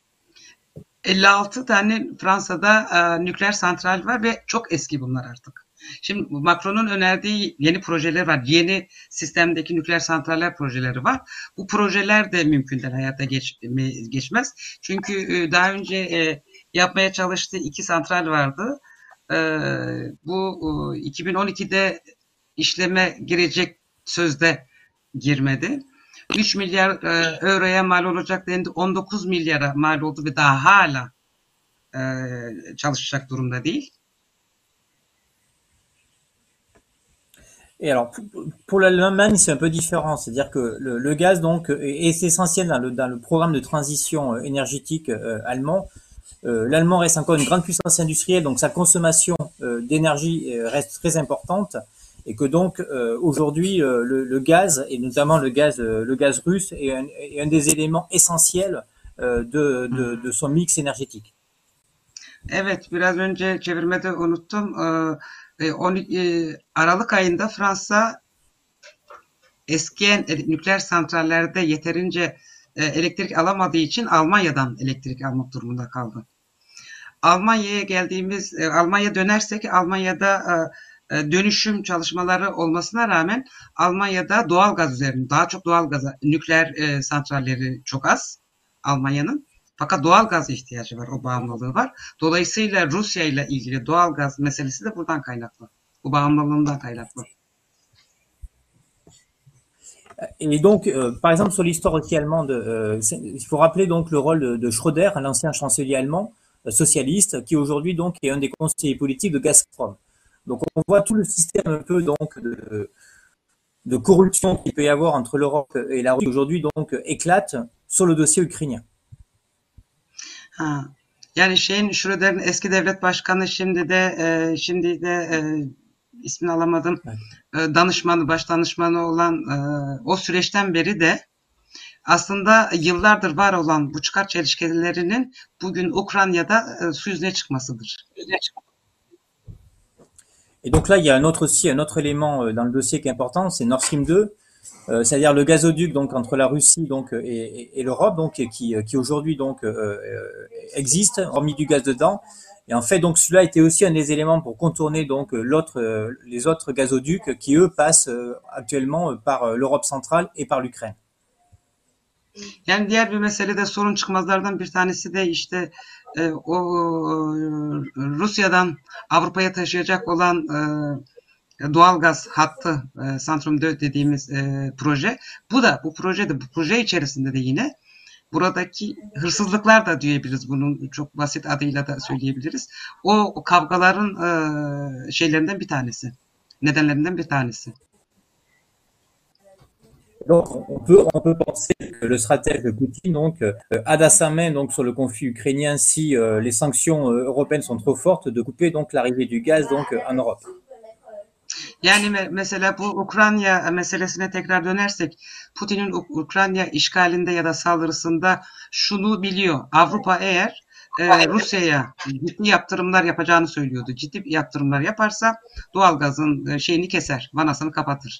elli altı tane Fransa'da e, nükleer santral var ve çok eski bunlar artık. Şimdi Macron'un önerdiği yeni projeler var. Yeni sistemdeki nükleer santraller projeleri var. Bu projeler de mümkünden hayata geç, geçmez. Çünkü daha önce e, yapmaya çalıştığı iki santral vardı. E, bu e, iki bin on ikide işleme girecek sözde girmedi. üç milyar e, euroya mal olacak dendi. on dokuz milyara mal oldu ve daha hala e, çalışacak durumda değil. Et alors, pour l'Allemagne, c'est un peu différent. C'est-à-dire que le, le gaz, donc, est, est essentiel dans le, dans le programme de transition énergétique euh, allemand. Euh, L'Allemand reste encore une grande puissance industrielle, donc sa consommation euh, d'énergie reste très importante. Et que donc, euh, aujourd'hui, euh, le, le gaz, et notamment le gaz, euh, le gaz russe, est un, est un des éléments essentiels euh, de, de, de son mix énergétique. Evet, biraz önce çevirmede unuttum. Ee, on, e, Aralık ayında Fransa eskiyen nükleer santrallerde yeterince e, elektrik alamadığı için Almanya'dan elektrik almak durumunda kaldı. Almanya'ya geldiğimiz, e, Almanya dönersek Almanya'da e, dönüşüm çalışmaları olmasına rağmen Almanya'da doğal gaz üzerinde daha çok doğal gaza, nükleer e, santralleri çok az Almanya'nın. Fakat doğal gaz ihtiyacı var, o bağımlılığı var. Dolayısıyla Rusya ile ilgili doğal gaz meselesi de buradan kaynaklı. Bu bağımlılığından kaynaklı. Et donc, euh, par exemple, sur l'histoire aussi allemande, euh, il faut rappeler donc le rôle de, de Schröder, l'ancien chancelier allemand euh, socialiste, qui aujourd'hui donc est un des conseillers politiques de Gazprom. Donc, on voit tout le système un peu donc de, de corruption qu'il peut y avoir entre l'Europe et la Russie aujourd'hui donc éclate sur le dossier ukrainien. Ha. Yani şeyin Schröder'in eski devlet başkanı şimdi de e, şimdi de e, ismini alamadım. Evet. E, danışmanı, baş danışmanı olan e, o süreçten beri de aslında yıllardır var olan bu çıkar çelişkilerinin bugün Ukrayna'da e, su yüzüne çıkmasıdır. Et donc là, il y a un autre aussi un autre élément dans le dossier qui est important, c'est Nord Stream deux. Euh, c'est-à-dire le gazoduc donc entre la Russie donc et, et, et l'Europe donc qui qui aujourd'hui donc euh, existe, remis du gaz dedans. Et en fait donc celui-là était aussi un des éléments pour contourner donc l'autre euh, les autres gazoducs qui eux passent euh, actuellement par l'Europe centrale et par l'Ukraine. Yani diğer bir mesele de sorun çıkmazlardan bir tanesi de işte e, o Rusya'dan Avrupa'ya taşıyacak olan e, doğalgaz hattı e, Centrum deux dediğimiz e, proje. Bu da bu projede bu proje içerisinde de yine buradaki hırsızlıklar da diyebiliriz. Bunun çok basit adıyla da söyleyebiliriz. O, o kavgaların e, şeylerinden bir tanesi. Nedenlerinden bir tanesi. Donc, on peut, on peut penser que le stratège Poutine donc, euh, a dans sa main donc, sur le conflit ukrainien, si euh, les sanctions euh, européennes sont trop fortes, de couper donc l'arrivée du gaz donc, en Europe. Yani me mesela bu Ukrayna meselesine tekrar dönersek, Putin'in Ukrayna işgalinde ya da saldırısında şunu biliyor. Avrupa eğer e, Rusya'ya ciddi yaptırımlar yapacağını söylüyordu. Ciddi yaptırımlar yaparsa doğalgazın şeyini keser, vanasını kapatır.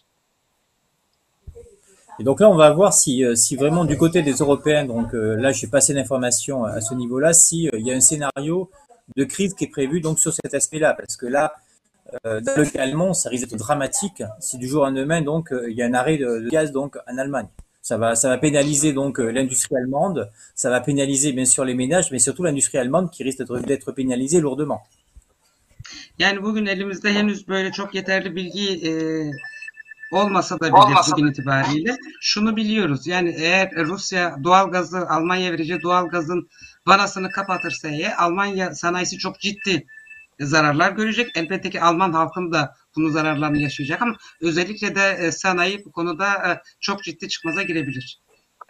Et donc là, on va voir si, si vraiment du côté des Européens, donc euh, là, j'ai passé l'information à ce niveau-là, si euh, il y a un scénario de crise qui est prévu donc sur cet aspect-là, parce que là, euh, dans le cas allemand, ça risque d'être dramatique si du jour au lendemain, donc euh, il y a un arrêt de, de gaz donc en Allemagne. Ça va, ça va pénaliser donc euh, l'industrie allemande, ça va pénaliser bien sûr les ménages, mais surtout l'industrie allemande qui risque d'être pénalisée lourdement. Yani bugün elimizde henüz böyle çok yeterli bilgi e, olmasa da bile bugün itibariyle şunu biliyoruz. Yani eğer Rusya doğalgazı Almanya'ya vereceği doğalgazın vanasını kapatırsa eğer Almanya sanayisi çok ciddi zararlar görecek. Elbette ki Alman halkın da bunun zararlarını yaşayacak ama özellikle de sanayi bu konuda çok ciddi çıkmaza girebilir.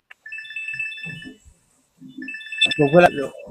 Donc voilà.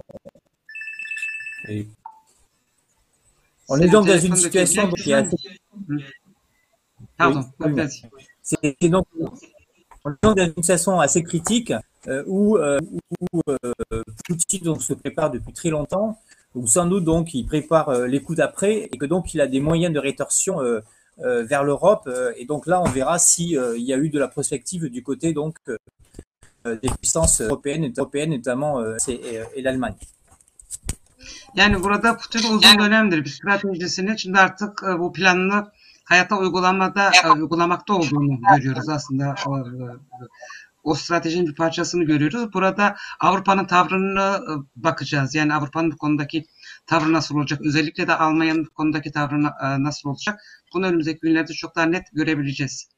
On est donc dans une situation qui est assez... Pardon, oui, c'est donc, on est donc dans une situation assez critique euh, où, euh, où euh, Poutine donc, se prépare depuis très longtemps, où sans doute donc il prépare euh, les coups d'après et que donc il a des moyens de rétorsion euh, euh, vers l'Europe euh, et donc là on verra si euh, il y a eu de la prospective du côté donc euh, des puissances européennes, européennes notamment euh, et, et l'Allemagne. Yani burada Putin uzun dönemdir bir stratejisini şimdi artık e, bu planını hayata uygulamada e, uygulamakta olduğunu görüyoruz aslında. O, o stratejinin bir parçasını görüyoruz. Burada Avrupa'nın tavrını e, bakacağız. Yani Avrupa'nın bu konudaki tavrı nasıl olacak? Özellikle de Almanya'nın bu konudaki tavrı e, nasıl olacak? Bunu önümüzdeki günlerde çok daha net görebileceğiz.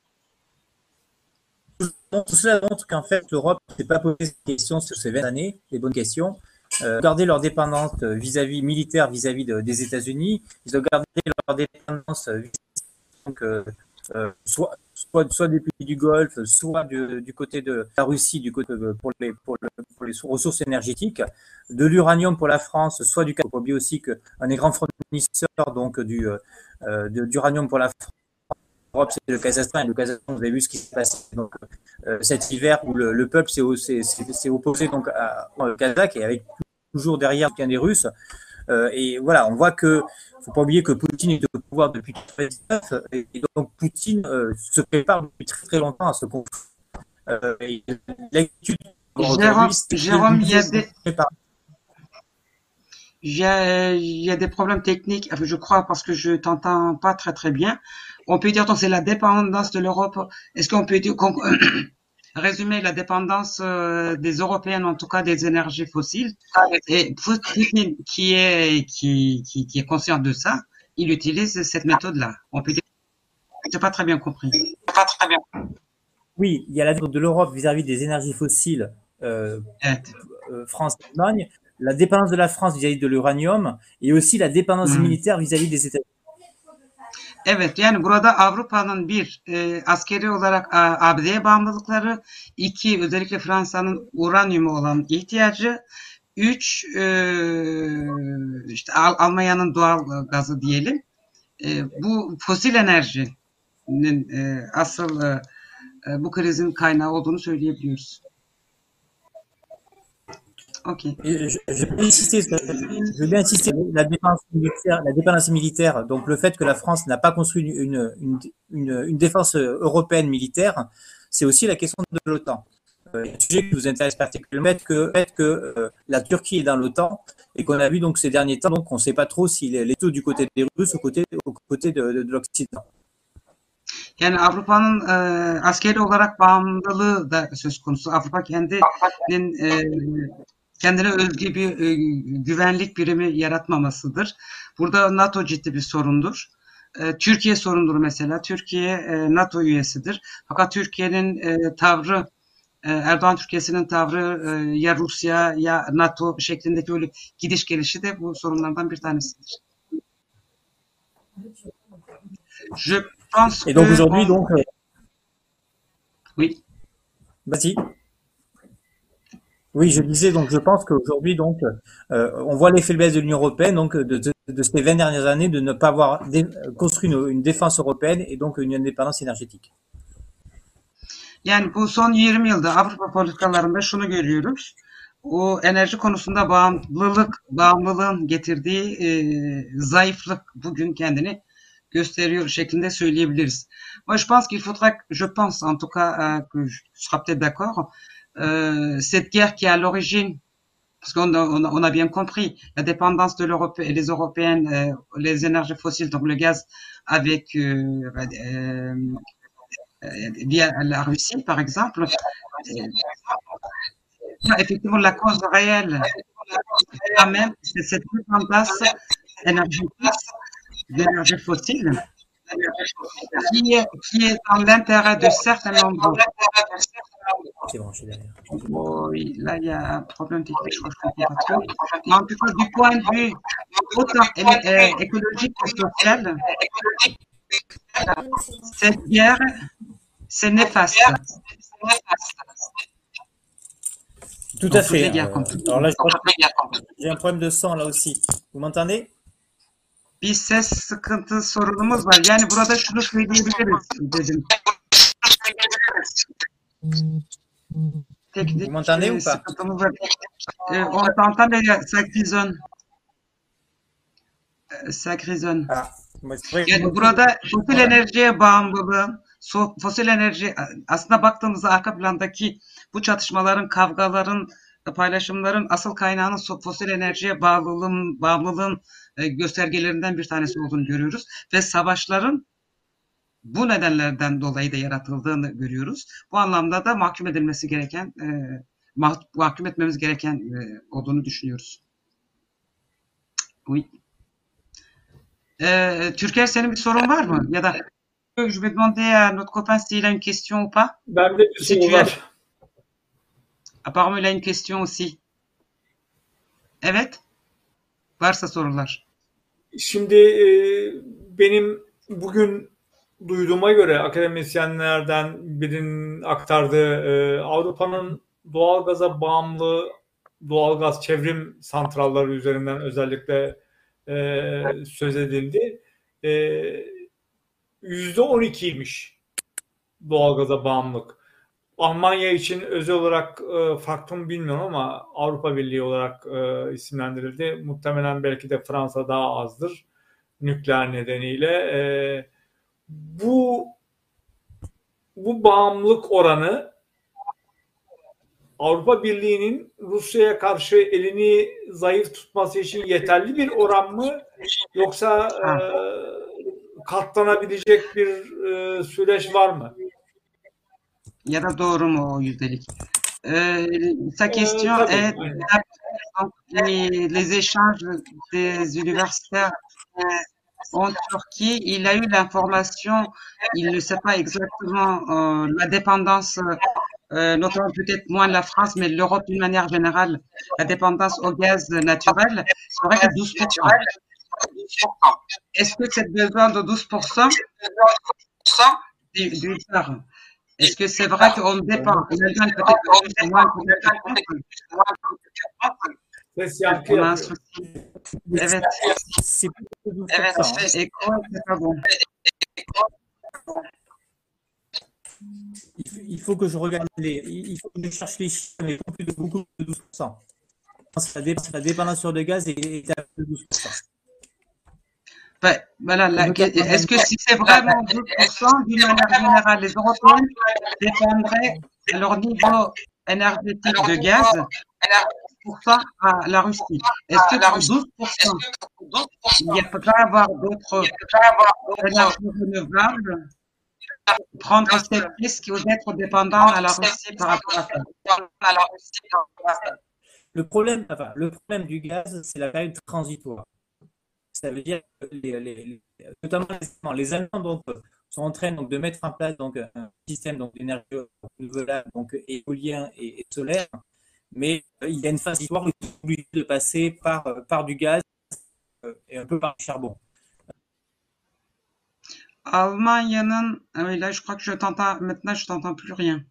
Tout cela montre qu'en fait, l'Europe ne s'est pas posé ces questions sur ces vingt années, les bonnes questions. Euh, garder leur dépendance vis-à-vis militaire vis-à-vis de, des États-Unis. Ils ont gardé leur dépendance donc, euh, euh, soit, soit, soit des pays du Golfe, soit du, du côté de la Russie, du côté de, pour, les, pour, le, pour les ressources énergétiques, de l'uranium pour la France, soit du. Il ne faut pas oublier aussi qu'un des grands fournisseurs donc du euh, de, d'uranium pour la France. L'Europe, c'est le Kazakhstan, et le Kazakhstan, vous avez vu ce qui s'est passé donc, euh, cet hiver où le, le peuple s'est opposé donc à, au Kazakh et avec toujours derrière bien des Russes. Euh, et voilà, on voit que, faut pas oublier que Poutine est au pouvoir depuis mille neuf cent quatre-vingt-dix-neuf et, et donc Poutine euh, se prépare depuis très très longtemps à ce conflit. Euh, L'actude Jérôme, Jérôme, il y a des il y a, il y a des problèmes techniques, je crois, parce que je t'entends pas très très bien. On peut dire que c'est la dépendance de l'Europe. Est-ce qu'on peut dire, qu'on, résumer la dépendance euh, des Européens, en tout cas des énergies fossiles? Et Poutine, qui est qui, qui qui est conscient de ça, il utilise cette méthode-là. On peut dire. Je n'ai pas très bien compris. Pas très bien. Oui, il y a la dépendance de l'Europe vis-à-vis des énergies fossiles, euh, euh, France et Allemagne, la dépendance de la France vis-à-vis de l'uranium et aussi la dépendance hmm. militaire vis-à-vis des États-Unis. Evet, yani burada Avrupa'nın bir e, askeri olarak A B D'ye bağımlılıkları, iki özellikle Fransa'nın uranyumu olan ihtiyacı, üç e, işte Al Almanya'nın doğal gazı diyelim. E, bu fosil enerjinin e, asıl e, bu krizin kaynağı olduğunu söyleyebiliyoruz. Okay. Je, je, vais insister, je vais bien insister la défense militaire, la dépendance militaire, donc le fait que la France n'a pas construit une, une, une, une défense européenne militaire, c'est aussi la question de l'OTAN. Euh, un sujet qui vous intéresse particulièrement, le fait que, le fait que euh, la Turquie est dans l'OTAN et qu'on a vu donc ces derniers temps, donc on ne sait pas trop s'il est taux du côté des Russes ou côté, au côté de, de, de l'Occident. Yani Avrupa'nın e, askeri olarak bağımlılığı da söz konusu. Avrupa kendinin e, kendine özgü bir e, güvenlik birimi yaratmamasıdır. Burada NATO ciddi bir sorundur. E, Türkiye sorundur mesela. Türkiye e, NATO üyesidir. Fakat Türkiye'nin e, tavrı, e, Erdoğan Türkiye'sinin tavrı e, ya Rusya ya NATO şeklindeki öyle gidiş gelişi de bu sorunlardan bir tanesidir. Je pense Et donc aujourd'hui, donc. Oui. Vas-y. Oui, je disais, donc je pense qu'aujourd'hui, donc, euh, on voit les faiblesses de l'Union européenne, donc de, de, de ces vingt dernières années, de ne pas avoir construit une, une défense européenne et donc une indépendance énergétique. Yani bu son yirmi yılda Avrupa politikalarında şunu görüyoruz. O enerji konusunda bağımlılık, bağımlılığın getirdiği e, zayıflık bugün kendini gösteriyor şeklinde söyleyebiliriz. Moi, je pense qu'il faudra, je pense en tout cas euh, que je serai peut-être d'accord, euh, cette guerre qui est à l'origine, parce qu'on a, on a, on a bien compris la dépendance de l'Europe et les Européennes, euh, les énergies fossiles, donc le gaz, avec euh, euh, via la Russie, par exemple. Et, effectivement, la cause réelle, quand même, c'est cette dépendance énergétique d'énergie fossile qui est, qui est dans l'intérêt de certains nombres. C'est branché derrière. Oui, là il y a un problème technique, je crois que je comprends pas trop. Mais en tout cas, du point de vue autant écologique que social, cette guerre, c'est néfaste. Tout à fait. Euh, alors là, j'ai un problème de son là aussi. Vous m'entendez? Bir ses sıkıntı sorunumuz var. Yani burada şunu söyleyebiliriz dedim. Teknik Vous m'entendez ou pas? Sıkıntımız var. Euh, on t'entend mais ça grisonne. Ça grisonne. Ah, yani burada fosil enerjiye bağımlılığın, fosil enerji aslında baktığımızda arka plandaki bu çatışmaların, kavgaların paylaşımların asıl kaynağının fosil enerjiye bağlılığın, bağımlılığın e, göstergelerinden bir tanesi olduğunu görüyoruz. Ve savaşların bu nedenlerden dolayı da yaratıldığını görüyoruz. Bu anlamda da mahkum edilmesi gereken, e, mah mahkum etmemiz gereken e, olduğunu düşünüyoruz. Oui. E, Türker, senin bir sorun var mı? Ya da je vais demander à notre copain s'il a une question ou pas. Bende bir Si soru tu as... var. Apparemment il a une question aussi. Evet. Varsa sorular. Şimdi e, benim bugün duyduğuma göre akademisyenlerden birinin aktardığı e, Avrupa'nın doğalgaza bağımlı doğalgaz çevrim santralları üzerinden özellikle e, söz edildi. E, yüzde on ikiymiş doğalgaza bağımlılık. Almanya için özel olarak e, farklı mı bilmiyorum ama Avrupa Birliği olarak e, isimlendirildi. Muhtemelen belki de Fransa daha azdır nükleer nedeniyle. E, bu bu bağımlılık oranı Avrupa Birliği'nin Rusya'ya karşı elini zayıf tutması için yeterli bir oran mı? Yoksa e, katlanabilecek bir e, süreç var mı? Ya da doğru mu o yüzdelik? Euh, sa question Euh, est donc, les, les échanges des universitaires en Turquie. Il a eu l'information, il ne sait pas exactement euh, la dépendance, euh, notamment peut-être moins la France, mais l'Europe d'une manière générale, la dépendance au gaz naturel serait que douze pour cent. Est-ce que cette besoin de douze pour cent d'une part, est-ce que c'est vrai qu'on dépend? L'Allemagne peut-être plus, moins, Ses yankı on a un yapıyor. souci. Evet, C'est plus que douze pour evet, cent, hein. et quoi, c'est pas bon. Il faut, il faut que je regarde les, il faut que je cherche les chiffres, mais plus de beaucoup de douze pour cent. La, dé, la dépendance sur le gaz est, est à plus de douze pour cent. Ben, voilà, la- est-ce que si c'est vraiment douze pour cent, d'une manière générale, les Européens dépendraient à leur niveau énergétique de gaz pour ça à la Russie? Est-ce que pour douze pour cent, il ne peut pas avoir d'autres énergies renouvelables, prendre ces risques ou d'être dépendant à la Russie par rapport à ça? Le problème, enfin, le problème du gaz, c'est la période transitoire. Ça veut dire que les, les, les, notamment les Allemands donc, sont en train donc, de mettre en place donc, un système d'énergie renouvelable, donc éolien et, et solaire, mais euh, il y a une phase transitoire où ils sont obligés de passer par, par du gaz euh, et un peu par du charbon. Almanya'nın, oui, là je crois que je t'entends, maintenant je t'entends plus rien.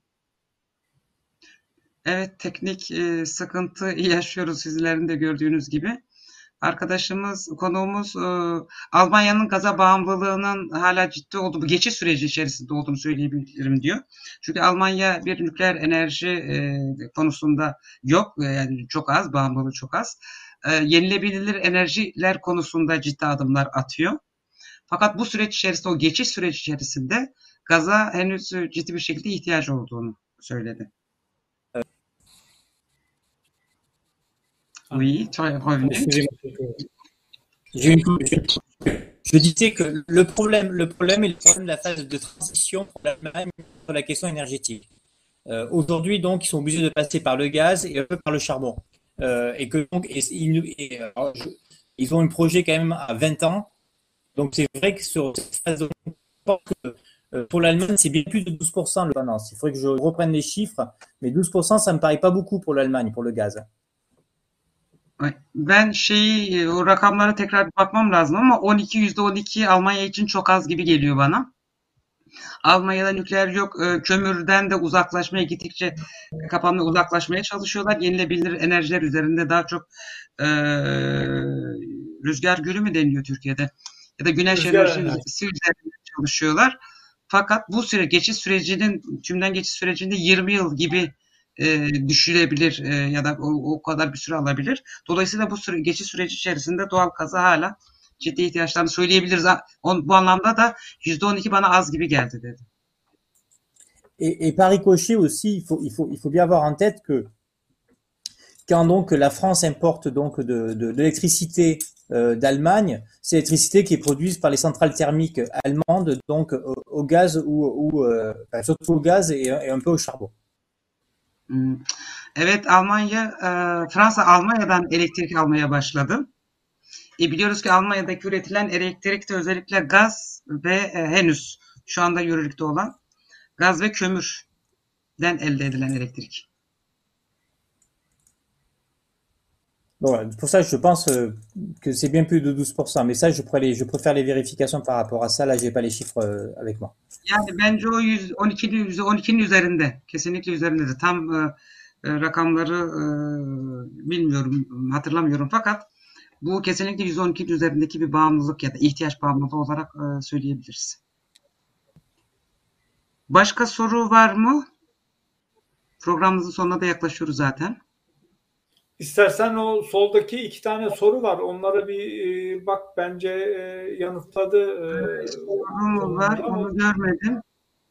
Evet, teknik e, sıkıntı yaşıyoruz sizlerin de gördüğünüz gibi. Arkadaşımız, konuğumuz e, Almanya'nın gaza bağımlılığının hala ciddi olduğu, bu geçiş süreci içerisinde olduğunu söyleyebilirim diyor. Çünkü Almanya bir nükleer enerji e, konusunda yok, yani çok az, bağımlılığı çok az. E, yenilebilir enerjiler konusunda ciddi adımlar atıyor. Fakat bu süreç içerisinde, o geçiş süreci içerisinde gaza henüz ciddi bir şekilde ihtiyacı olduğunu söyledi. Oui, tu es revenu. Je disais que le problème, le problème est le problème de la phase de transition pour l'Allemagne sur la question énergétique. Euh, Aujourd'hui, donc, ils sont obligés de passer par le gaz et un peu par le charbon. Euh, et que donc, et, et, et, alors, je, ils ont un projet quand même à vingt ans. Donc, c'est vrai que sur cette phase de que, euh, pour l'Allemagne, c'est bien plus de douze pour cent le dépendance. Il faudrait que je reprenne les chiffres, mais douze pour cent, ça me paraît pas beaucoup pour l'Allemagne, pour le gaz. Ben şeyi, o rakamlara tekrar bakmam lazım ama on iki yüzde on iki Almanya için çok az gibi geliyor bana. Almanya'da nükleer yok, kömürden de uzaklaşmaya gittikçe kapanmaya uzaklaşmaya çalışıyorlar. Yenilebilir enerjiler üzerinde daha çok e, rüzgar gülü mü deniliyor Türkiye'de? Ya da güneş Rüzgar enerjisi enerjisi. üzerinde çalışıyorlar. Fakat bu süre geçiş sürecinin, tümden geçiş sürecinde yirmi yıl gibi e, düşürebilir e, ya da o, o kadar bir süre alabilir. Dolayısıyla bu süre, geçiş süreci içerisinde doğal gaza hala ciddi ihtiyaçlarını söyleyebiliriz. On, bu anlamda da yüzde on iki bana az gibi geldi dedi. Et, et par ricochet aussi, il faut, il faut, il faut bien avoir en tête que quand donc la France importe donc de, de, de l'électricité euh, d'Allemagne, c'est l'électricité qui est produite par les centrales thermiques allemandes, donc au, au gaz ou, ou euh, enfin, surtout au gaz et, et un peu au charbon. Hmm. Evet, Almanya, e, Fransa Almanya'dan elektrik almaya başladı. E, biliyoruz ki Almanya'daki üretilen elektrikte özellikle gaz ve e, henüz şu anda yürürlükte olan gaz ve kömürden elde edilen elektrik. Bon, voilà. Pour ça, je pense euh, que c'est bien plus de douze pour cent. Mais ça, je, les, je préfère les vérifications par rapport à ça. Là, j'ai pas les chiffres euh, avec moi. Yani bence o yüz on ikinin yüzde on ikinin üzerinde. Kesinlikle üzerinde. Tam e, e, rakamları e, bilmiyorum, hatırlamıyorum fakat bu kesinlikle yüzde on ikinin üzerindeki bir bağımlılık ya da ihtiyaç bağımlılığı olarak e, söyleyebiliriz. Başka soru var mı? Programımızın sonuna da yaklaşıyoruz zaten. İstersen o soldaki iki tane soru var. Onlara bir e, bak, bence e, yanıtladı. E, Sorum var, ama onu görmedim.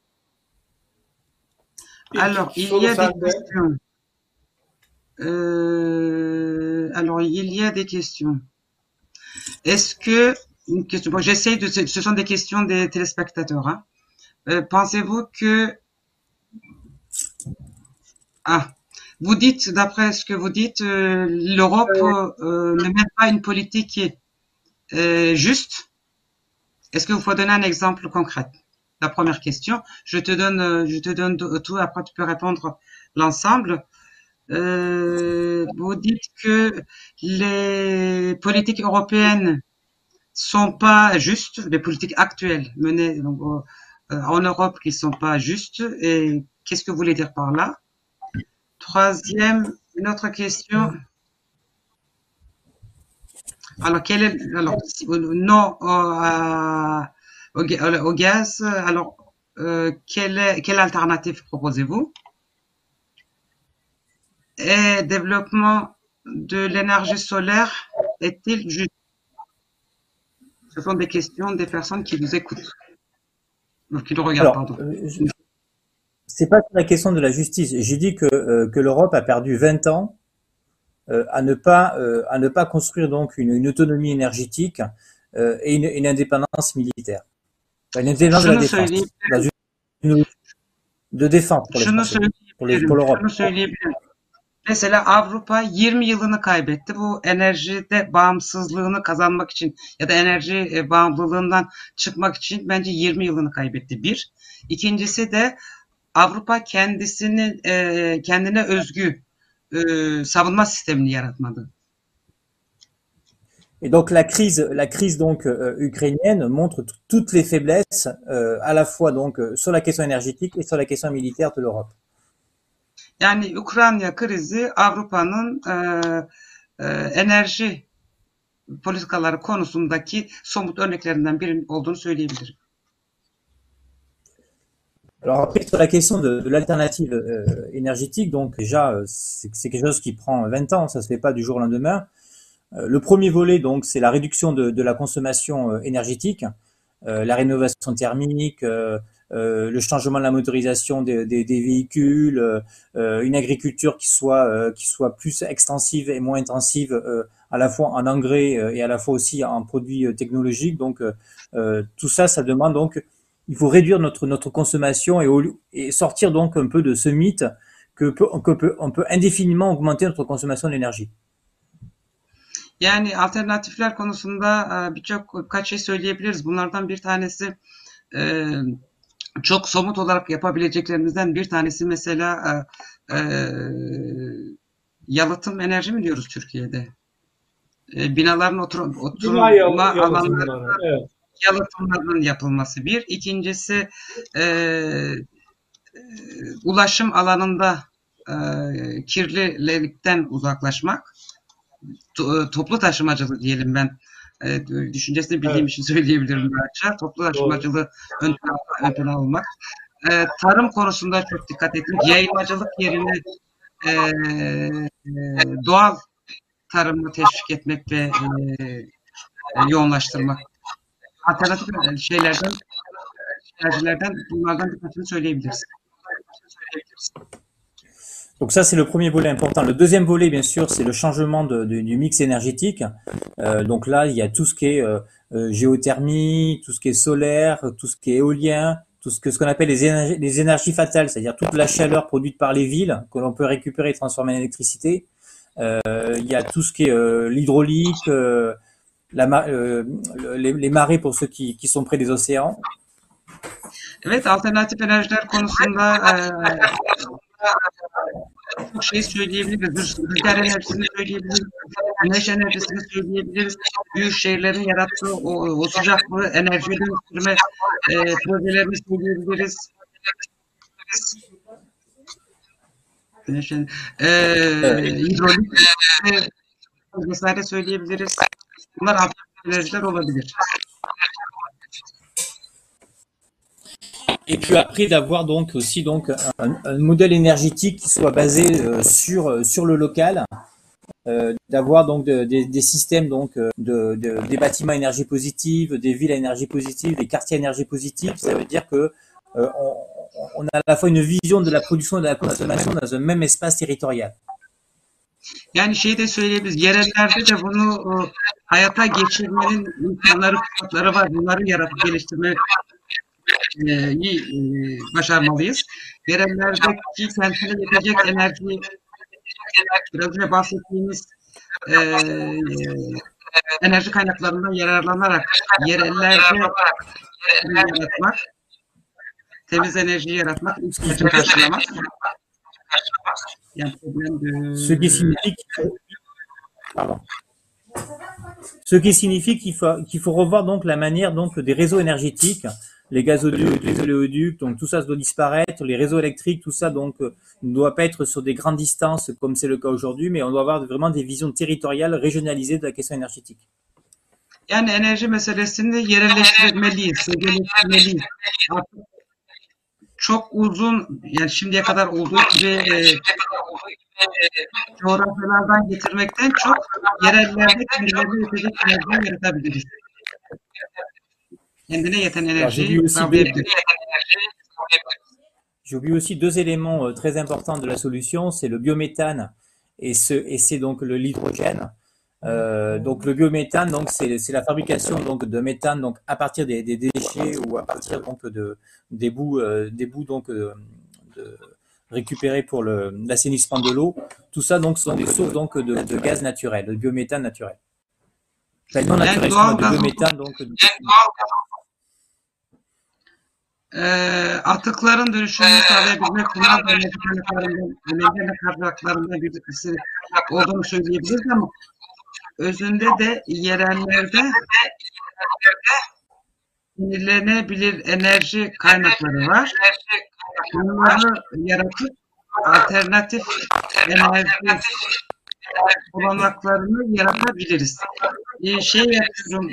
ilk Alors, iki il soru y a des sende. questions. Euh, alors, il y a des questions. Est-ce que, une question, bon, j'essaie de, ce sont des questions des téléspectateurs, hein. Euh, pensez-vous que, ah, vous dites, d'après ce que vous dites, euh, l'Europe euh, ne mène pas une politique euh, juste. Est-ce que vous pouvez donner un exemple concret? La première question. Je te donne, je te donne tout, après tu peux répondre l'ensemble. Euh, vous dites que les politiques européennes sont pas justes, les politiques actuelles menées donc, euh, en Europe qui sont pas justes. Et qu'est-ce que vous voulez dire par là? Troisième, une autre question. Alors, quel est, alors, non euh, au, au gaz, alors, euh, quelle, est, quelle alternative proposez-vous? Et développement de l'énergie solaire est-il juste? Ce sont des questions des personnes qui vous écoutent. Qui nous regardent, Alors, pardon. euh, je- c'est pas sur la question de la justice. J'ai dit que, euh, que l'Europe a perdu vingt ans euh, à ne pas euh, à ne pas construire donc une, une autonomie énergétique euh, et une, une indépendance militaire. Enfin, une indépendance de la Şunu défense, söyleyebilirim. dans une, une- de défense pour les Şunu Français, pour les söyleyebilirim. pour l'Europe. Şunu söyleyebilirim. Mesela Avrupa yirmi yılını kaybetti. Bu enerjide bağımsızlığını kazanmak için ya da enerji e, bağımlılığından çıkmak için bence yirmi yılını kaybetti. Bir. İkincisi de Avrupa kendisini e, kendine özgü e, savunma sistemini yaratmadı. Et donc la crise, la crise donc euh, ukrainienne montre t- toutes les faiblesses euh, à la fois donc euh, sur la question énergétique et sur la question militaire de l'Europe. Yani Ukrayna krizi Avrupa'nın e, e, enerji politikaları konusundaki somut örneklerinden biri olduğunu söyleyebilirim. Alors après sur la question de, de l'alternative euh, énergétique, donc déjà euh, c'est c'est quelque chose qui prend vingt ans, ça se fait pas du jour au lendemain. Euh, le premier volet donc c'est la réduction de, de la consommation euh, énergétique, euh, la rénovation thermique, euh, euh, le changement de la motorisation des, des, des véhicules, euh, une agriculture qui soit euh, qui soit plus extensive et moins intensive euh, à la fois en engrais euh, et à la fois aussi en produits euh, technologiques. Donc euh, euh, tout ça, ça demande donc il faut réduire notre notre consommation et, au, et sortir donc un peu de ce mythe que peut, que peut, on peut indéfiniment augmenter notre consommation d'énergie. Yani alternatifler konusunda birçok kaç şey söyleyebiliriz. Bunlardan bir tanesi e, çok somut olarak yapabileceklerimizden bir tanesi mesela e, e, yalıtım enerji mi diyoruz Türkiye'de? E, binaların otur, oturma alanlarında evet. Yalıtımların yapılması bir. İkincisi e, e, ulaşım alanında e, kirlilikten uzaklaşmak. Toplu taşımacılığı diyelim ben. E, düşüncesini bildiğim evet. için söyleyebilirim belki. Toplu taşımacılığı ön plana, ön plana almak. E, tarım konusunda çok dikkat ettim. Yayılmacılık yerine e, e, doğal tarımı teşvik etmek ve e, e, yoğunlaştırmak. Alternatif şeylerden, enerjilerden bunlardan birkaçını söyleyebiliriz. Donc ça, c'est le premier volet important. Le deuxième volet, bien sûr, c'est le changement de, de, du mix énergétique. Euh, donc là, il y a tout ce qui est euh, euh, géothermie, tout ce qui est solaire, tout ce qui est éolien, tout ce que ce qu'on appelle les énergies, les énergies fatales, c'est-à-dire toute la chaleur produite par les villes que l'on peut récupérer et transformer en électricité. Euh, il y a tout ce qui est euh, l'hydraulique, euh, la, euh, les, les marées pour ceux qui, qui sont près des océans. Evet, alternatif enerjiler konusunda e, çok şey söyleyebiliriz. Rüzgar enerjisini söyleyebiliriz. Güneş enerjisini söyleyebiliriz. Büyük şehirlerin yarattığı o, o sıcaklığı enerjiye dönüştürme e, projelerini söyleyebiliriz. Güneş enerjisi, e, hidrolik e, vesaire söyleyebiliriz. Bunlar alternatif enerjiler olabilir. Et puis après d'avoir donc aussi donc un, un modèle énergétique qui soit basé euh, sur sur le local, euh, d'avoir donc de, des, des systèmes donc de, de des bâtiments à énergie positive, des villes à énergie positive, des quartiers à énergie positive. Ça veut dire que euh, on, on a à la fois une vision de la production et de la consommation dans un même espace territorial. Yani şey de söyleyebiliriz. Yerellerde de bunu o, hayata geçirmenin imkanları, fırsatları var. Bunları yaratıp geliştirme iyi e, başarmalıyız. Yerellerdeki kentine yetecek enerji, biraz önce bahsettiğimiz e, enerji kaynaklarından yararlanarak yerellerde yaratmak, temiz enerjiyi yaratmak, ihtiyacı karşılamak. Yani problem de... Ce qui signifie qu'il Pardon. Ce qui signifie qu'il faut, qu'il faut revoir donc la manière donc des réseaux énergétiques, les gazoducs, les oléoducs, donc tout ça doit disparaître, les réseaux électriques, tout ça donc euh, ne doit pas être sur des grandes distances comme c'est le cas aujourd'hui, mais on doit avoir vraiment des visions territoriales régionalisées de la question énergétique. Yani enerji meselesini yerelleştirmeliyiz, yerelleştirmeliyiz. Artık çok uzun, yani şimdiye kadar olduğu gibi e, coğrafyalardan getirmekten çok yerellerde kendilerine yetecek enerjiyi yaratabiliriz. Kendine yeten enerjiyi sağlayabiliriz. J'oublie aussi deux éléments euh, très importants de la solution, c'est le biométhane et, ce, et c'est donc le l'hydrogène. Euh, donc le biométhane, donc c'est c'est la fabrication donc de méthane donc à partir des, des déchets ou à partir donc de des bouts euh, des bouts donc euh, de, récupérés pour le l'assainissement de l'eau. Tout ça donc sont des sources donc de, de gaz naturel, de biométhane naturel. Enfin, non naturel, de biométhane donc. De... E, atıkların dönüşümünü sağlayabilmek bunlar da enerji kaynaklarından, önemli kaynaklarından birisi olduğunu söyleyebiliriz ama özünde de yerellerde yenilenebilir enerji kaynakları var. Bunları yaratıp alternatif enerji olanaklarını yaratabiliriz. Ee, şey yapıyorum.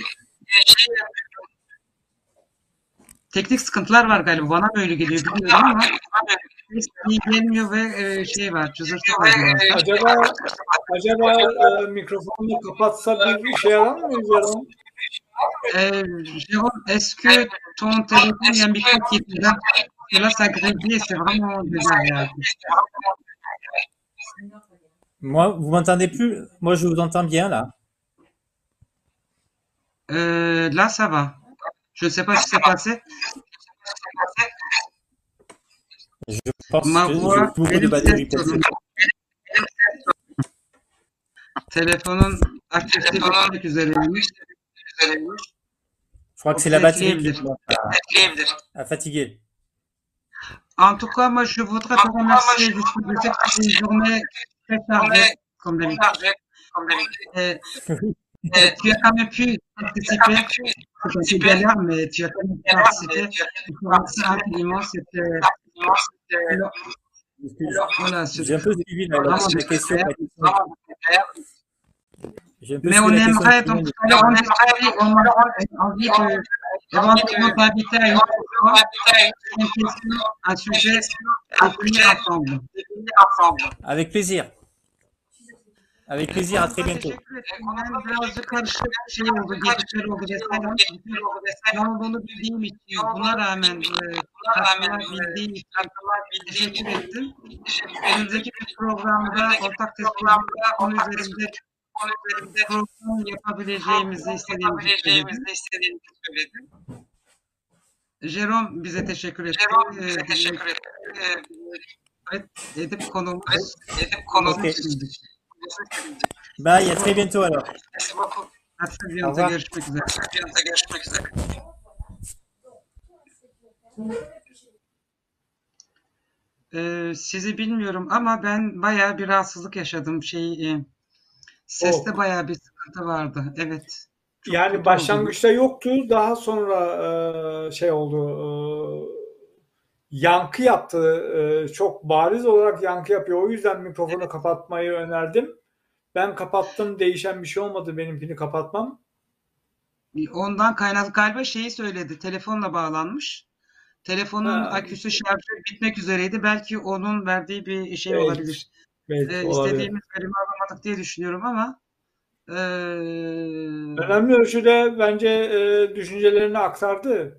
Teknik sıkıntılar var galiba. Bana böyle geliyor bilmiyorum ama iyi gelmiyor ve e, şey var. Cızırtı var. Acaba acaba e, mikrofonu kapatsa bir işe yarar mı Jerome? Euh, Jérôme, est-ce que ton téléphone, il y a un micro qui est là? Parce que là, ça grésille, c'est vraiment désagréable. Moi, vous m'entendez plus? Moi, je vous entends bien là. Euh, là, ça va. Je ne sais pas ce qui s'est passé. Je pense Ma que voix, j'ai beaucoup de batterie possible. Telefonun aktifliği bitmek üzereymiş. Je crois que c'est la batterie qui a fatigué. En tout cas, moi, je voudrais te remercier de cette journée très chargée, comme d'habitude. Et, et tu as quand même pu participer. C'est un peu galère, mais tu as quand même pu participer. Je te remercie infiniment. C'était. Voilà, j'ai un peu suivi la, la, la question. Mais on aimerait, donc, tout à l'heure, on aimerait, on a envie de, éventuellement t'inviter à une fois, une question, un sujet, à finir ensemble. Avec plaisir. Avec plaisir, à très Konumuza bientôt. teşekkür ederim. Ben birazcık karışık şey oldu, gecikmeler oldu vesaire. Ne olduğunu bildiğim için, buna rağmen e, katılabildiğim için teşekkür ettim. Önümüzdeki bir programda ortak tespit konu üzerinde program yapabileceğimizi istediğimizi söyledim. Jerome bize teşekkür etti. Bize teşekkür etti. Evet, edip konuğumuz edip konuğumuz Ok. şimdi. Bye, à très bientôt alors. Hatta bir Au anda revoir. görüşmek üzere. Bir anda görüşmek üzere. Ee, sizi bilmiyorum ama ben bayağı bir rahatsızlık yaşadım. Şey, e, seste Oh. bayağı bir sıkıntı vardı. Evet. Çok Yani kötü oldu. başlangıçta yoktu. Daha sonra e, şey oldu. e, yankı yaptı. E, çok bariz olarak yankı yapıyor. O yüzden mikrofonu kapatmayı önerdim. Ben kapattım. Değişen bir şey olmadı benimkini kapatmam. Ondan kaynaklı galiba şeyi söyledi. Telefonla bağlanmış. Telefonun Ha, aküsü şarjı bitmek üzereydi. Belki onun verdiği bir şey belki, olabilir. belki Ee, olabilir. istediğimiz verimi alamadık diye düşünüyorum ama ee, Önemli ölçüde bence e, düşüncelerini aktardı.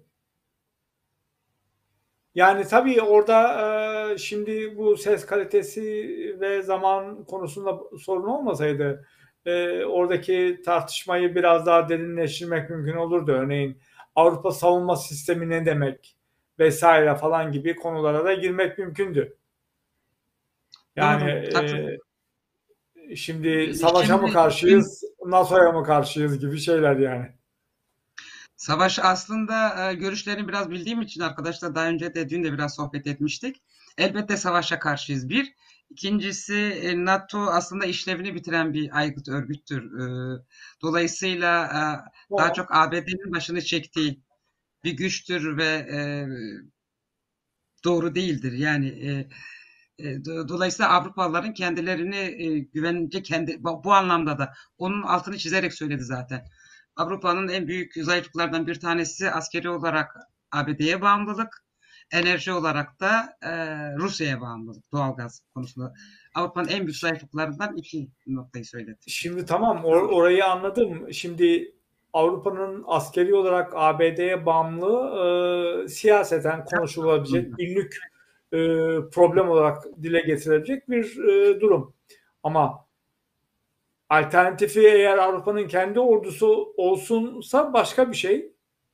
Yani tabii orada e, şimdi bu ses kalitesi ve zaman konusunda sorun olmasaydı e, oradaki tartışmayı biraz daha derinleştirmek mümkün olurdu. Örneğin Avrupa savunma sistemi ne demek vesaire falan gibi konulara da girmek mümkündü. Yani doğru, haklısın. e, şimdi savaşa mı Şimdi karşıyız, NATO'ya mı karşıyız gibi şeyler yani. Savaş aslında e, görüşlerini biraz bildiğim için arkadaşlar daha önce de dün de biraz sohbet etmiştik. Elbette savaşa karşıyız bir. İkincisi e, NATO aslında işlevini bitiren bir aygıt örgüttür. E, dolayısıyla e, daha çok A B D'nin başını çektiği bir güçtür ve e, doğru değildir. Yani e, e, do- dolayısıyla Avrupalıların kendilerini e, güvence kendi bu, bu anlamda da onun altını çizerek söyledi zaten. Avrupa'nın en büyük zayıflıklardan bir tanesi askeri olarak A B D'ye bağımlılık, enerji olarak da e, Rusya'ya bağımlılık, doğalgaz konusunda. Avrupa'nın en büyük zayıflıklarından iki noktayı söyledi. Şimdi tamam or- orayı anladım. Şimdi Avrupa'nın askeri olarak A B D'ye bağımlı e, siyaseten konuşulabilecek günlük e, problem olarak dile getirebilecek bir e, durum. Ama alternatifi eğer Avrupa'nın kendi ordusu olsunsa başka bir şey.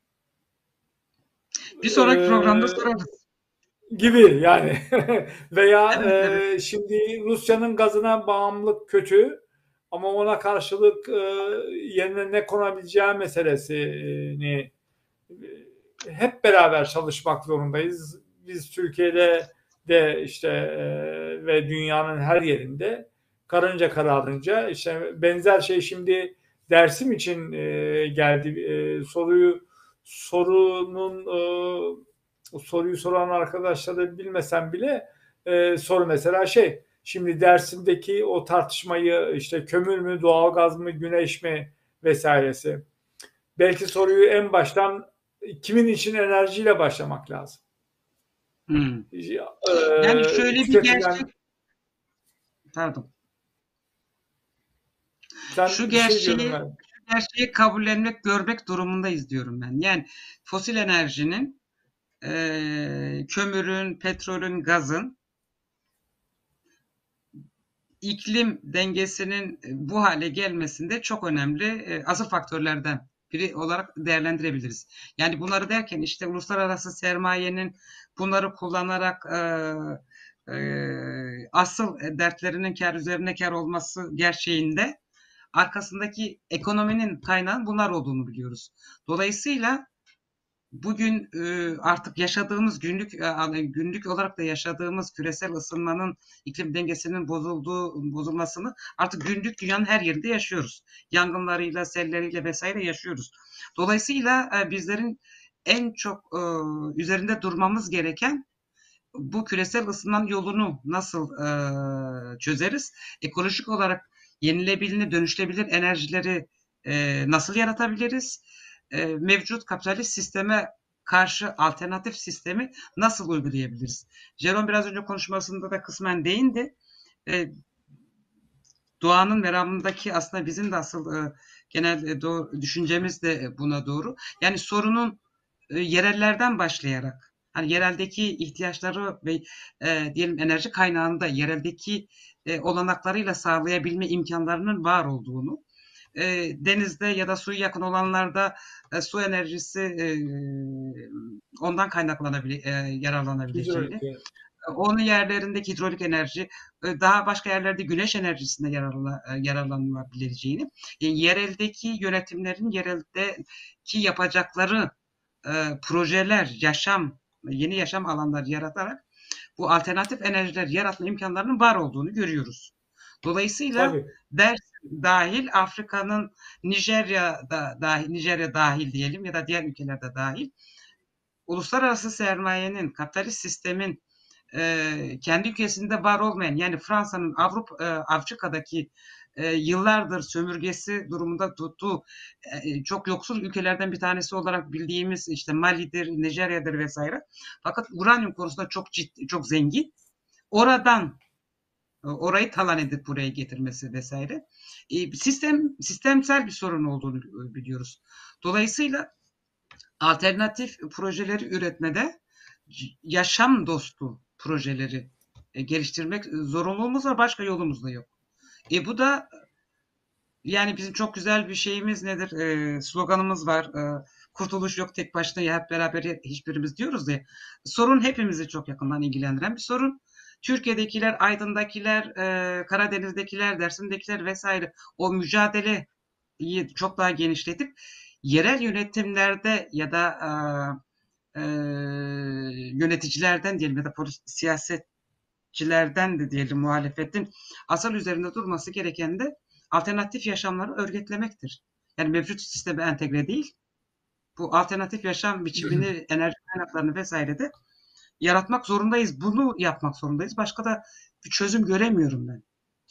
Bir sonraki E, programda sorarız. gibi yani veya Evet, evet. e, şimdi Rusya'nın gazına bağımlılık kötü ama ona karşılık e, yerine ne konabileceği meselesini e, hep beraber çalışmak zorundayız. Biz Türkiye'de de işte e, ve dünyanın her yerinde karınca kararınca işte benzer şey şimdi Dersim için e, geldi. E, soruyu sorunun e, soruyu soran arkadaşları bilmesem bile e, soru mesela şey şimdi Dersim'deki o tartışmayı işte kömür mü doğalgaz mı güneş mi vesairesi belki soruyu en baştan kimin için enerjiyle başlamak lazım. Hmm. Ee, Yani şöyle bir tüketilen... gerçek, pardon. Sen Şu bir şey gerçeği, diyordun ben. şu gerçeği kabullenmek, görmek durumundayız diyorum ben. Yani fosil enerjinin, e, kömürün, petrolün, gazın iklim dengesinin bu hale gelmesinde çok önemli e, asıl faktörlerden biri olarak değerlendirebiliriz. Yani bunları derken işte uluslararası sermayenin bunları kullanarak e, e, asıl dertlerinin kar üzerine kar olması gerçeğinde arkasındaki ekonominin kaynağının bunlar olduğunu biliyoruz. Dolayısıyla bugün e, artık yaşadığımız günlük e, günlük olarak da yaşadığımız küresel ısınmanın iklim dengesinin bozulduğu bozulmasını artık günlük dünyanın her yerinde yaşıyoruz. Yangınlarıyla, selleriyle vesaire yaşıyoruz. Dolayısıyla e, bizlerin en çok e, üzerinde durmamız gereken bu küresel ısınmanın yolunu nasıl e, çözeriz? Ekolojik olarak yenilebilir, dönüştürebilir enerjileri e, nasıl yaratabiliriz? E, mevcut kapitalist sisteme karşı alternatif sistemi nasıl uygulayabiliriz? Jerome biraz önce konuşmasında da kısmen değindi. E, doğanın meramındaki aslında bizim de asıl e, genel e, doğru, düşüncemiz de buna doğru. Yani sorunun e, yerellerden başlayarak, hani yereldeki ihtiyaçları ve e, diyelim enerji kaynağını da yereldeki e, olanaklarıyla sağlayabilme imkanlarının var olduğunu, e, denizde ya da suyu yakın olanlarda e, su enerjisi e, ondan kaynaklanabilir, e, yararlanabileceğini, Hidrolik. onun yerlerindeki hidrolik enerji, daha başka yerlerde güneş enerjisinde yararla, yararlanılabileceğini, yereldeki yönetimlerin yereldeki yapacakları e, projeler, yaşam, yeni yaşam alanları yaratarak bu alternatif enerjiler yaratma imkanlarının var olduğunu görüyoruz. Dolayısıyla Tabii. Dersim dahil, Afrika'nın Nijerya'da dahil, Nijerya dahil diyelim ya da diğer ülkelerde dahil, uluslararası sermayenin, kapitalist sistemin e, kendi ülkesinde var olmayan, yani Fransa'nın Avrupa, e, Afrika'daki e, yıllardır sömürgesi durumunda tuttuğu e, çok yoksul ülkelerden bir tanesi olarak bildiğimiz işte Mali'dir, Nijerya'dır vesaire. Fakat uranyum konusunda çok ciddi, çok zengin. Oradan orayı talan edip buraya getirmesi vesaire. E, sistem sistemsel bir sorun olduğunu biliyoruz. Dolayısıyla alternatif projeleri üretmede yaşam dostu projeleri e, geliştirmek zorunluluğumuz var. Başka yolumuz da yok. E bu da yani bizim çok güzel bir şeyimiz nedir? E, sloganımız var. E, kurtuluş yok tek başına, ya hep beraber hiçbirimiz diyoruz ya. Sorun hepimizi çok yakından ilgilendiren bir sorun. Türkiye'dekiler, Aydın'dakiler, e, Karadeniz'dekiler, Dersim'dekiler vesaire o mücadeleyi çok daha genişletip yerel yönetimlerde ya da e, e, yöneticilerden diyelim ya da polis, siyasetçilerden de diyelim muhalefetin asal üzerinde durması gereken de alternatif yaşamları örgütlemektir. Yani mevcut sisteme entegre değil, bu alternatif yaşam biçimini, enerji kaynaklarını vesaire de yaratmak zorundayız. Bunu yapmak zorundayız. Başka da bir çözüm göremiyorum ben.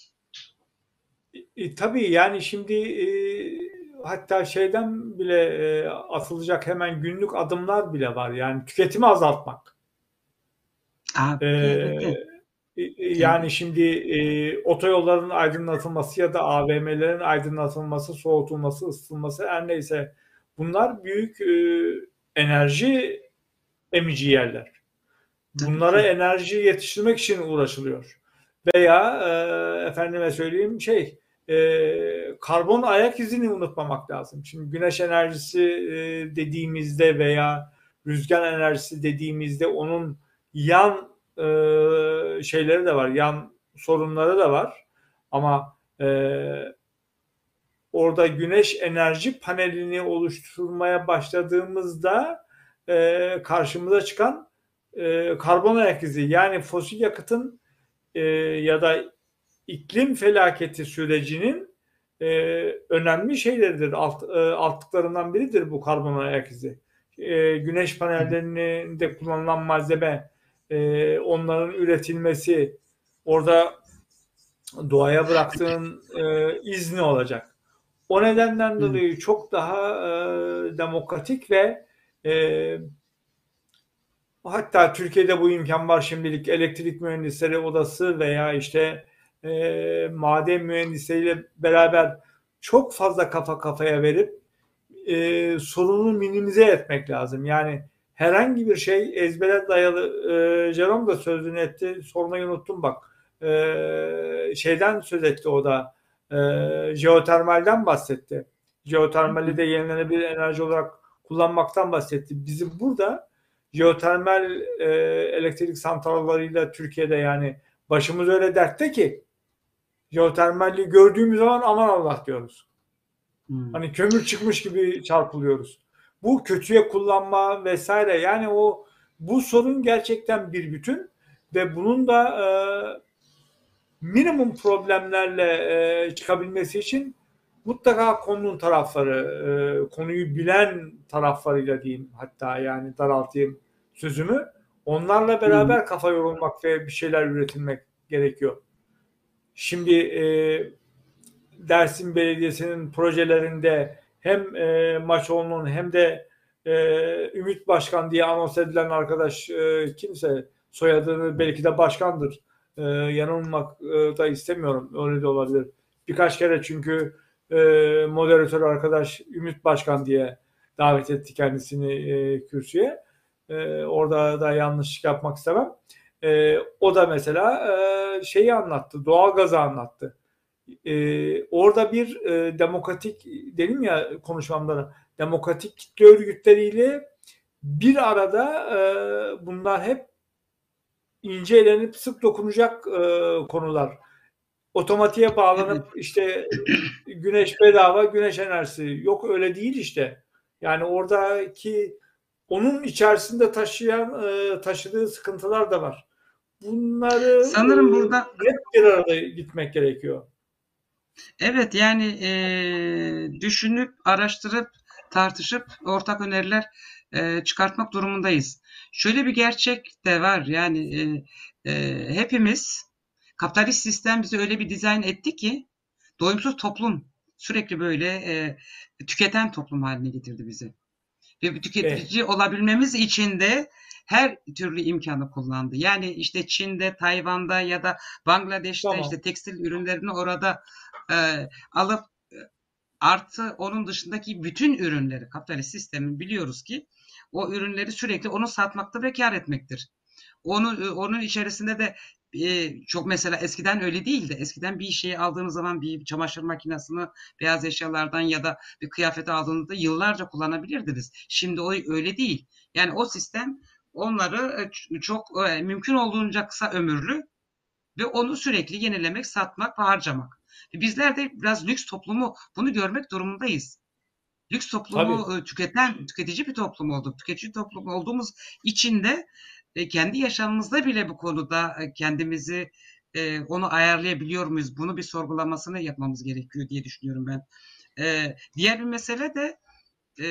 E, tabii yani şimdi e, hatta şeyden bile e, atılacak hemen günlük adımlar bile var. Yani tüketimi azaltmak. Aa, E, evet. e, yani şimdi e, otoyolların aydınlatılması ya da A V M'lerin aydınlatılması, soğutulması, ısıtılması her neyse bunlar büyük e, enerji emici yerler. Bunlara enerji yetiştirmek için uğraşılıyor. Veya e, efendime söyleyeyim şey e, karbon ayak izini unutmamak lazım. Şimdi güneş enerjisi e, dediğimizde veya rüzgar enerjisi dediğimizde onun yan e, şeyleri de var, yan sorunları da var. Ama e, orada güneş enerji panelini oluşturmaya başladığımızda e, karşımıza çıkan e, karbon ayak izi, yani fosil yakıtın e, ya da iklim felaketi sürecinin e, önemli şeyleridir. Alt, e, altlıklarından biridir bu karbon ayak izi. E, güneş panellerinde kullanılan malzeme, e, onların üretilmesi, orada doğaya bıraktığın e, iz ne olacak? O nedenden dolayı çok daha e, demokratik ve e, hatta Türkiye'de bu imkan var şimdilik, elektrik mühendisleri odası veya işte e, maden mühendisleriyle beraber çok fazla kafa kafaya verip e, sorunu minimize etmek lazım. Yani herhangi bir şey ezbere dayalı, e, Jerome da sözünü etti, sormayı unuttum bak, e, şeyden söz etti o da, e, jeotermalden bahsetti. Jeotermali de yenilenebilir enerji olarak kullanmaktan bahsetti. Bizim burada jeotermal e, elektrik santrallarıyla Türkiye'de yani başımız öyle dertte ki jeotermalli gördüğümüz zaman aman Allah diyoruz. Hmm. Hani kömür çıkmış gibi çarpılıyoruz. Bu kötüye kullanma vesaire, yani o bu sorun gerçekten bir bütün ve bunun da e, minimum problemlerle e, çıkabilmesi için mutlaka konunun tarafları, e, konuyu bilen taraflarıyla diyeyim, hatta yani daraltayım sözümü, onlarla beraber hmm. kafa yorulmak ve bir şeyler üretilmek gerekiyor. Şimdi e, Dersim Belediyesi'nin projelerinde hem e, Maçoğlu'nun hem de e, Ümit Başkan diye anons edilen arkadaş e, kimse, soyadını belki de başkandır. E, yanılmak e, da istemiyorum. Öyle de olabilir. birkaç kere çünkü e, moderatör arkadaş Ümit Başkan diye davet etti kendisini e, kürsüye. E, orada da yanlışlık yapmak istemem. E, o da mesela e, şeyi anlattı, doğalgazı anlattı. E, orada bir e, demokratik, dedim ya konuşmamda da, demokratik kitle örgütleriyle bir arada e, bunlar hep ince elenip sık dokunacak e, konular. Otomatiğe bağlanıp işte güneş bedava, güneş enerjisi. Yok, öyle değil işte. Yani oradaki onun içerisinde taşıyan e, taşıdığı sıkıntılar da var. Bunları Sanırım e, burada hep bir arada gitmek gerekiyor. evet yani e, düşünüp, araştırıp, tartışıp ortak öneriler e, çıkartmak durumundayız. Şöyle bir gerçek de var yani e, e, hepimiz kapitalist sistem bizi öyle bir dizayn etti ki doyumsuz toplum sürekli böyle e, tüketen toplum haline getirdi bizi. Ve bir tüketici Evet. olabilmemiz için de her türlü imkanı kullandı. Yani işte Çin'de, Tayvan'da ya da Bangladeş'te Tamam. işte tekstil ürünlerini orada e, alıp e, artı onun dışındaki bütün ürünleri kapitalist sistemin biliyoruz ki o ürünleri sürekli onu satmakta ve kar etmektir. Onu onun içerisinde de e, çok mesela eskiden öyle değildi. Eskiden bir şeyi aldığınız zaman bir çamaşır makinesini beyaz eşyalardan ya da bir kıyafeti aldığınızda yıllarca kullanabilirdiniz. Şimdi o öyle değil. Yani o sistem onları e, çok e, mümkün olduğunca kısa ömürlü ve onu sürekli yenilemek, satmak ve harcamak. Bizler de biraz lüks toplumu bunu görmek durumundayız. Lüks Tabii. toplumu e, tüketen, tüketici bir toplum olduk. Tüketici toplum olduğumuz için de e, kendi yaşamımızda bile bu konuda e, kendimizi e, onu ayarlayabiliyor muyuz? Bunu bir sorgulamasını yapmamız gerekiyor diye düşünüyorum ben. E, diğer bir mesele de e,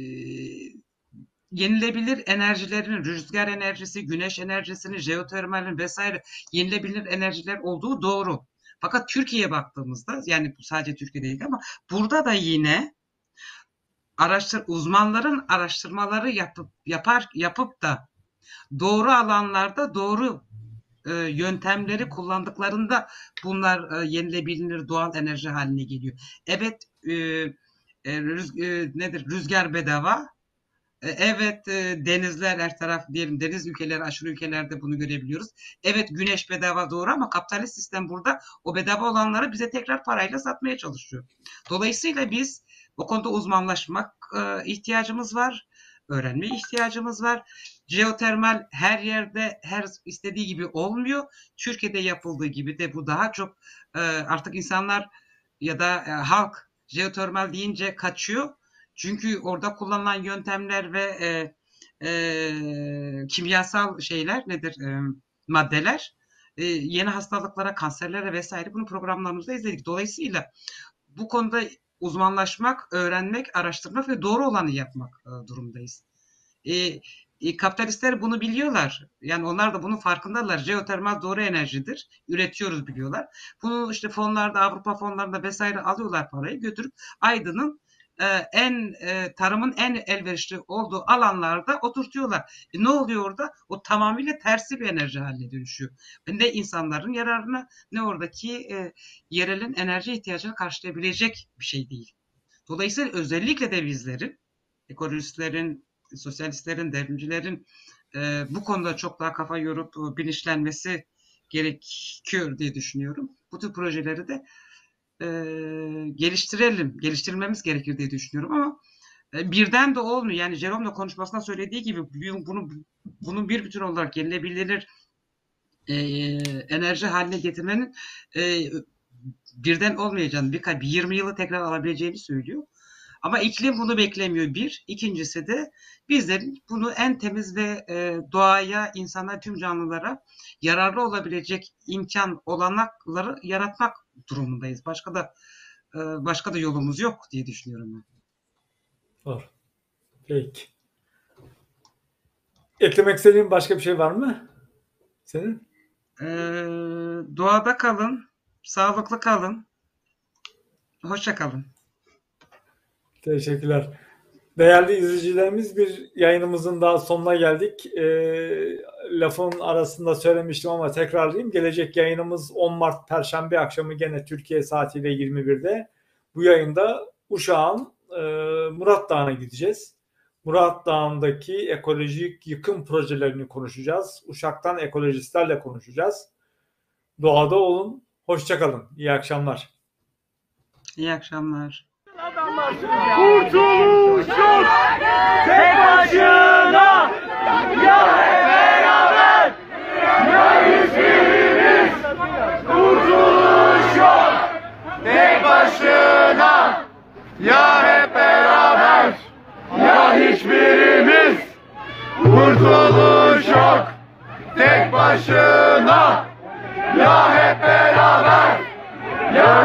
yenilebilir enerjilerin, rüzgar enerjisi, güneş enerjisinin, jeotermalin vesaire yenilebilir enerjiler olduğu doğru. Fakat Türkiye'ye baktığımızda yani sadece Türkiye değil ama burada da yine araştır uzmanların araştırmaları yapıp yapar yapıp da doğru alanlarda doğru e, yöntemleri kullandıklarında bunlar e, yenilebilir doğal enerji haline geliyor. Evet e, e, rüz, e, nedir rüzgar bedava. E, evet e, denizler her taraf diyelim deniz ülkeleri aşırı ülkelerde bunu görebiliyoruz. Evet güneş bedava doğru ama kapitalist sistem burada o bedava olanları bize tekrar parayla satmaya çalışıyor. Dolayısıyla biz bu konuda uzmanlaşmak e, ihtiyacımız var. Öğrenmeye ihtiyacımız var. Jeotermal her yerde her istediği gibi olmuyor. Türkiye'de yapıldığı gibi de bu daha çok e, artık insanlar ya da e, halk jeotermal deyince kaçıyor. Çünkü orada kullanılan yöntemler ve e, e, kimyasal şeyler nedir e, maddeler e, yeni hastalıklara, kanserlere vesaire bunu programlarımızda izledik. Dolayısıyla bu konuda uzmanlaşmak, öğrenmek, araştırmak ve doğru olanı yapmak e, durumdayız. E, e, kapitalistler bunu biliyorlar. Yani onlar da bunun farkındalar. Jeotermal doğru enerjidir. Üretiyoruz biliyorlar. Bunu işte fonlarda, Avrupa fonlarında vesaire alıyorlar parayı götürüp Aydın'ın e, en e, tarımın en elverişli olduğu alanlarda oturtuyorlar. E, ne oluyor orada? O tamamıyla tersi bir enerji haline dönüşüyor. Ne insanların yararına ne oradaki e, yerelin enerji ihtiyacını karşılayabilecek bir şey değil. Dolayısıyla özellikle de bizlerin, ekolojistlerin, sosyalistlerin, devrimcilerin e, bu konuda çok daha kafa yorup e, bilinçlenmesi gerekiyor diye düşünüyorum. Bu tür projeleri de e, geliştirelim, geliştirmemiz gerekir diye düşünüyorum ama e, birden de olmuyor. Yani Jerome da konuşmasında söylediği gibi bunu bunun bir bütün olarak yenilebilir e, enerji haline getirmenin e, birden olmayacağını, bir, bir yirmi yılı tekrar alabileceğini söylüyor. Ama iklim bunu beklemiyor bir. İkincisi de bizlerin bunu en temiz ve e, doğaya, insana, tüm canlılara yararlı olabilecek imkan, olanakları yaratmak durumundayız. Başka da e, başka da yolumuz yok diye düşünüyorum ben. Doğru. Peki. Eklemek istediğin başka bir şey var mı? Senin? E, doğada kalın, sağlıklı kalın, hoşça kalın. Teşekkürler. Değerli izleyicilerimiz, bir yayınımızın daha sonuna geldik. E, lafın arasında söylemiştim ama tekrarlayayım. Gelecek yayınımız on Mart Perşembe akşamı gene Türkiye saatiyle yirmi birde. Bu yayında Uşak'ın e, Murat Dağı'na gideceğiz. Murat Dağı'ndaki ekolojik yıkım projelerini konuşacağız. Uşak'tan ekolojistlerle konuşacağız. Doğada olun, hoşça kalın. İyi akşamlar. İyi akşamlar. Kurtuluş yok tek başına, ya hep beraber ya hiçbirimiz. Kurtuluş yok tek başına, ya hep beraber ya hiçbirimiz. Kurtuluş yok tek başına, ya hep beraber ya.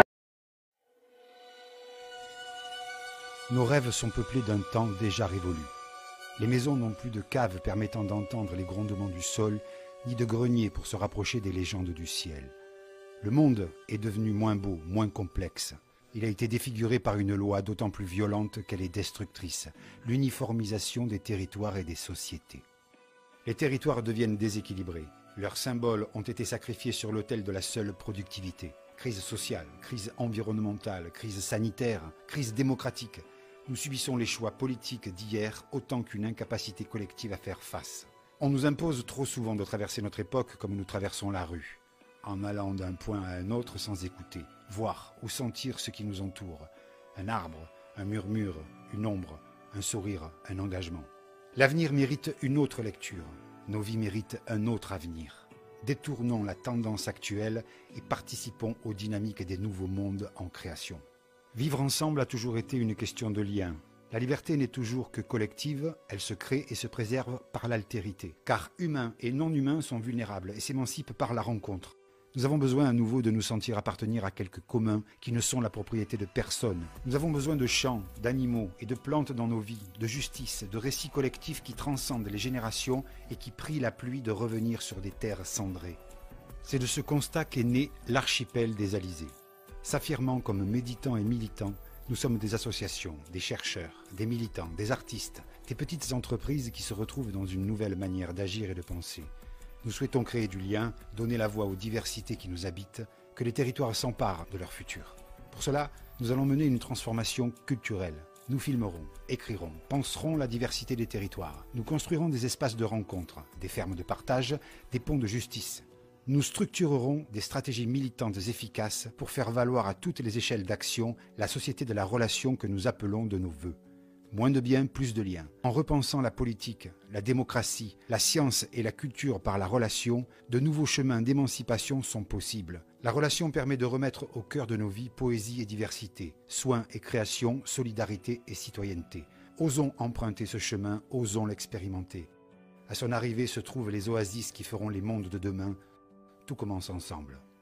Nos rêves sont peuplés d'un temps déjà révolu. Les maisons n'ont plus de caves permettant d'entendre les grondements du sol, ni de greniers pour se rapprocher des légendes du ciel. Le monde est devenu moins beau, moins complexe. Il a été défiguré par une loi d'autant plus violente qu'elle est destructrice, l'uniformisation des territoires et des sociétés. Les territoires deviennent déséquilibrés. Leurs symboles ont été sacrifiés sur l'autel de la seule productivité. Crise sociale, crise environnementale, crise sanitaire, crise démocratique. Nous subissons les choix politiques d'hier autant qu'une incapacité collective à faire face. On nous impose trop souvent de traverser notre époque comme nous traversons la rue, en allant d'un point à un autre sans écouter, voir ou sentir ce qui nous entoure. Un arbre, un murmure, une ombre, un sourire, un engagement. L'avenir mérite une autre lecture. Nos vies méritent un autre avenir. Détournons la tendance actuelle et participons aux dynamiques des nouveaux mondes en création. Vivre ensemble a toujours été une question de lien. La liberté n'est toujours que collective, elle se crée et se préserve par l'altérité. Car humains et non-humains sont vulnérables et s'émancipent par la rencontre. Nous avons besoin à nouveau de nous sentir appartenir à quelques communs qui ne sont la propriété de personne. Nous avons besoin de champs, d'animaux et de plantes dans nos vies, de justice, de récits collectifs qui transcendent les générations et qui prient la pluie de revenir sur des terres cendrées. C'est de ce constat qu'est né l'archipel des Alizés. S'affirmant comme méditants et militants, nous sommes des associations, des chercheurs, des militants, des artistes, des petites entreprises qui se retrouvent dans une nouvelle manière d'agir et de penser. Nous souhaitons créer du lien, donner la voix aux diversités qui nous habitent, que les territoires s'emparent de leur futur. Pour cela, nous allons mener une transformation culturelle. Nous filmerons, écrirons, penserons la diversité des territoires. Nous construirons des espaces de rencontre, des fermes de partage, des ponts de justice. Nous structurerons des stratégies militantes efficaces pour faire valoir à toutes les échelles d'action la société de la relation que nous appelons de nos vœux. Moins de biens, plus de liens. En repensant la politique, la démocratie, la science et la culture par la relation, de nouveaux chemins d'émancipation sont possibles. La relation permet de remettre au cœur de nos vies poésie et diversité, soins et création, solidarité et citoyenneté. Osons emprunter ce chemin, osons l'expérimenter. À son arrivée se trouvent les oasis qui feront les mondes de demain. Tout commence ensemble.